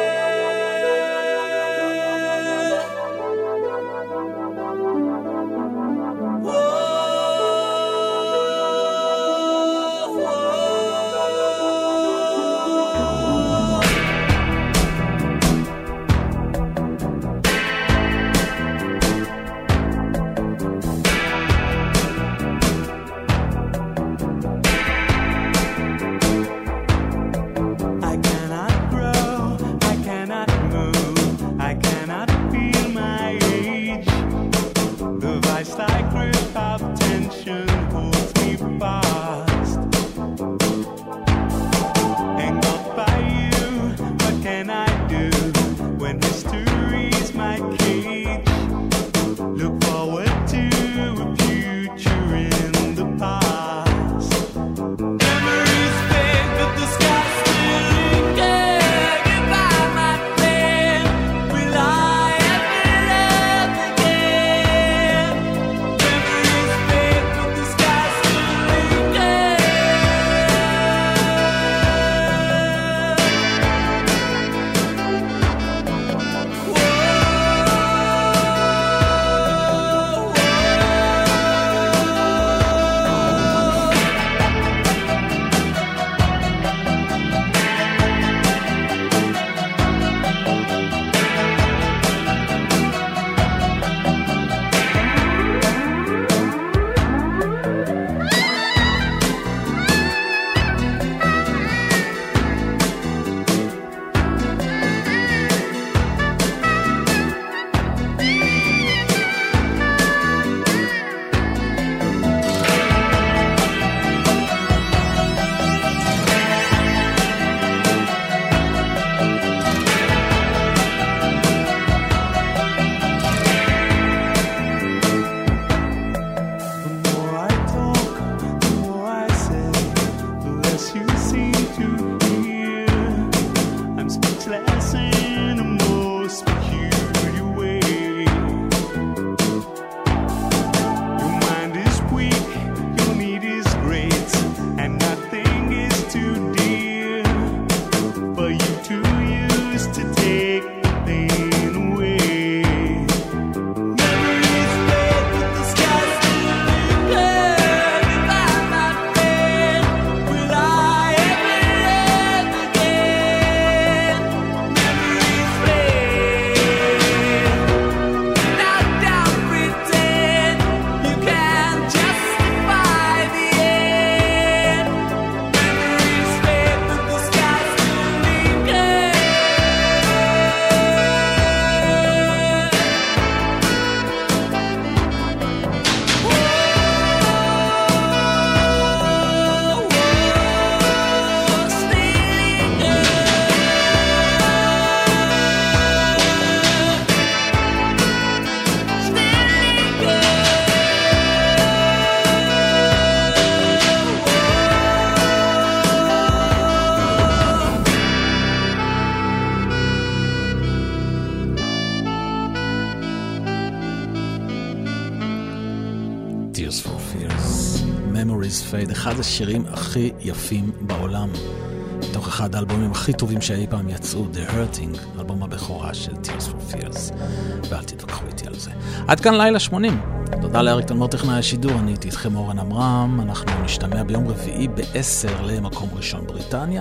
Fade, אחד השירים הכי יפים בעולם, מתוך אחד האלבומים הכי טובים שאי פעם יצאו, The Hurting, אלבום הבכורה של Tears for Fears, ואל תתווכחו איתי על זה. עד כאן לילה 80. תודה לאריק תלמור טכנאי השידור, אני הייתי איתכם אורן עמרם. אנחנו נשתמע ביום רביעי ב-10 למקום ראשון בריטניה,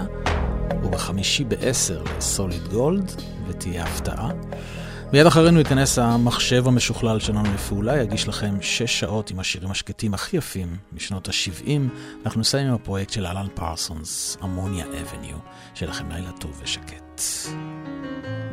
ובחמישי ב-10 לסוליד גולד, ותהיה הפתעה. מיד אחרינו ייכנס המחשב המשוכלל שלנו לפעולה, יגיש לכם 6 שעות עם השירים השקטים הכי יפים משנות ה-70. אנחנו נסיים עם הפרויקט של אלן פרסונס, אמוניה אבניו. שיהיה לכם לילה טוב ושקט.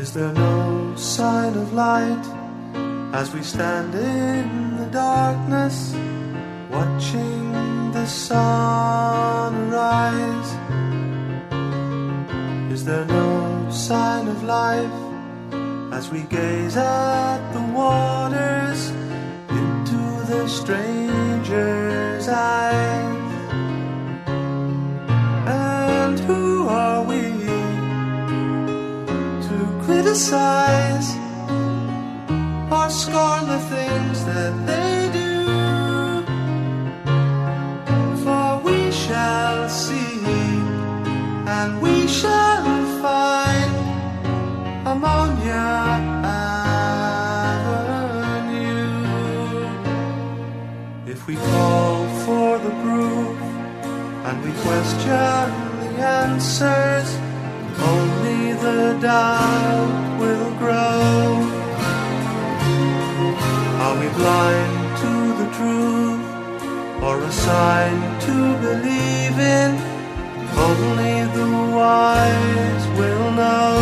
Is there no sign of light as we stand in the darkness, watching the sun rise? Is there no sign of life as we gaze at the waters into the stranger's eyes? And who are we to criticize or scorn the things that they do? For we shall see and we shall find Ammonia Avenue. If we call for the proof and we question the answers, only the doubt will grow. Are we blind to the truth or a sign to believe in? Only the wise will know.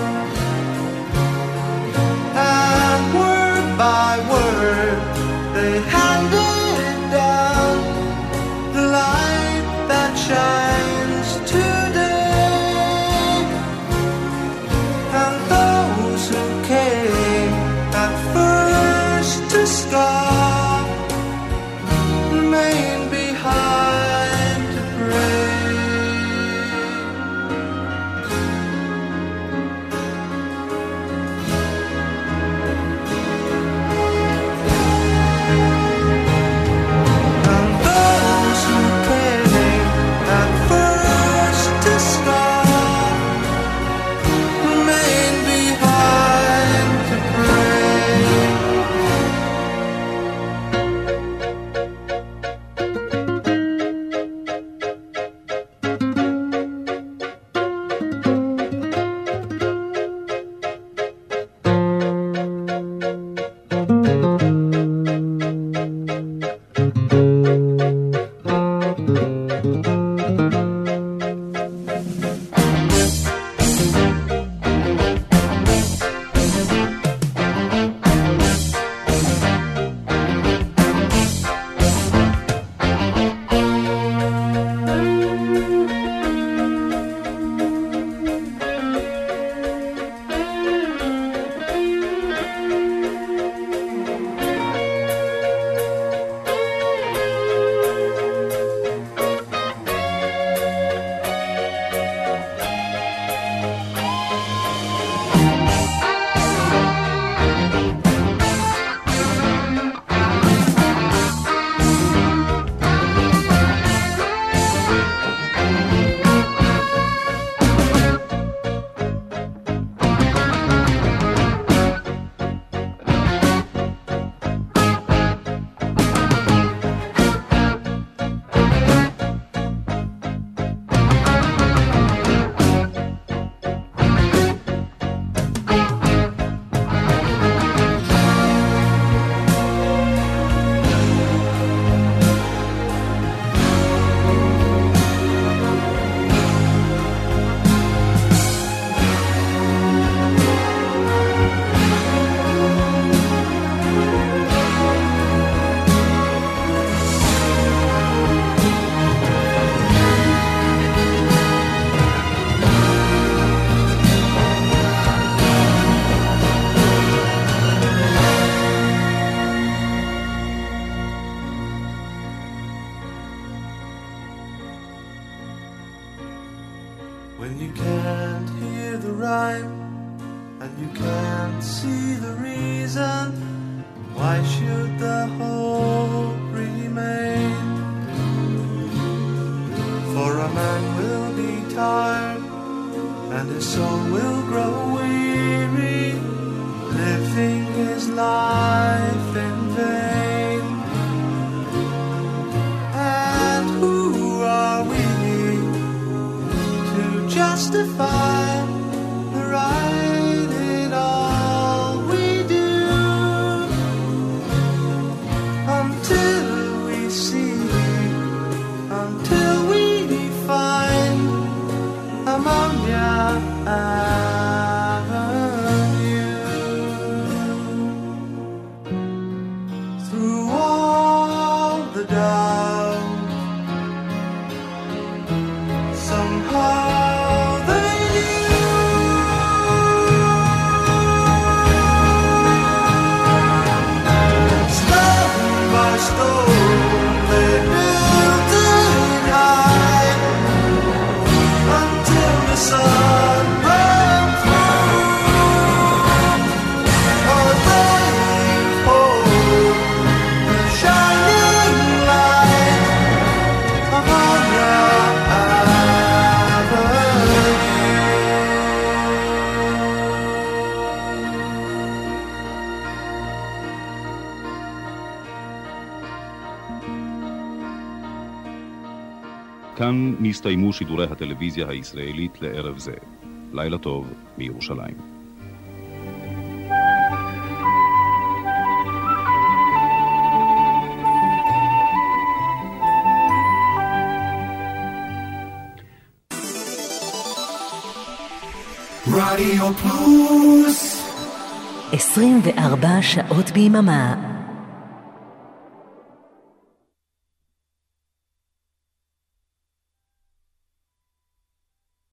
And word by word they handed down the light that shines today. And those who came at first to scoff remain behind to pray. When you can't hear the rhyme and you can't see the reason, why should the hope remain? For a man will be tired and his soul will grow weary, living his life in vain. And who are we to justify the right in all we do, until we see, until we find ammonia Avenue. כאן נסתיימו שידורי הטלוויזיה הישראלית לערב זה. לילה טוב מירושלים. רדיו פלוס 24 שעות ביממה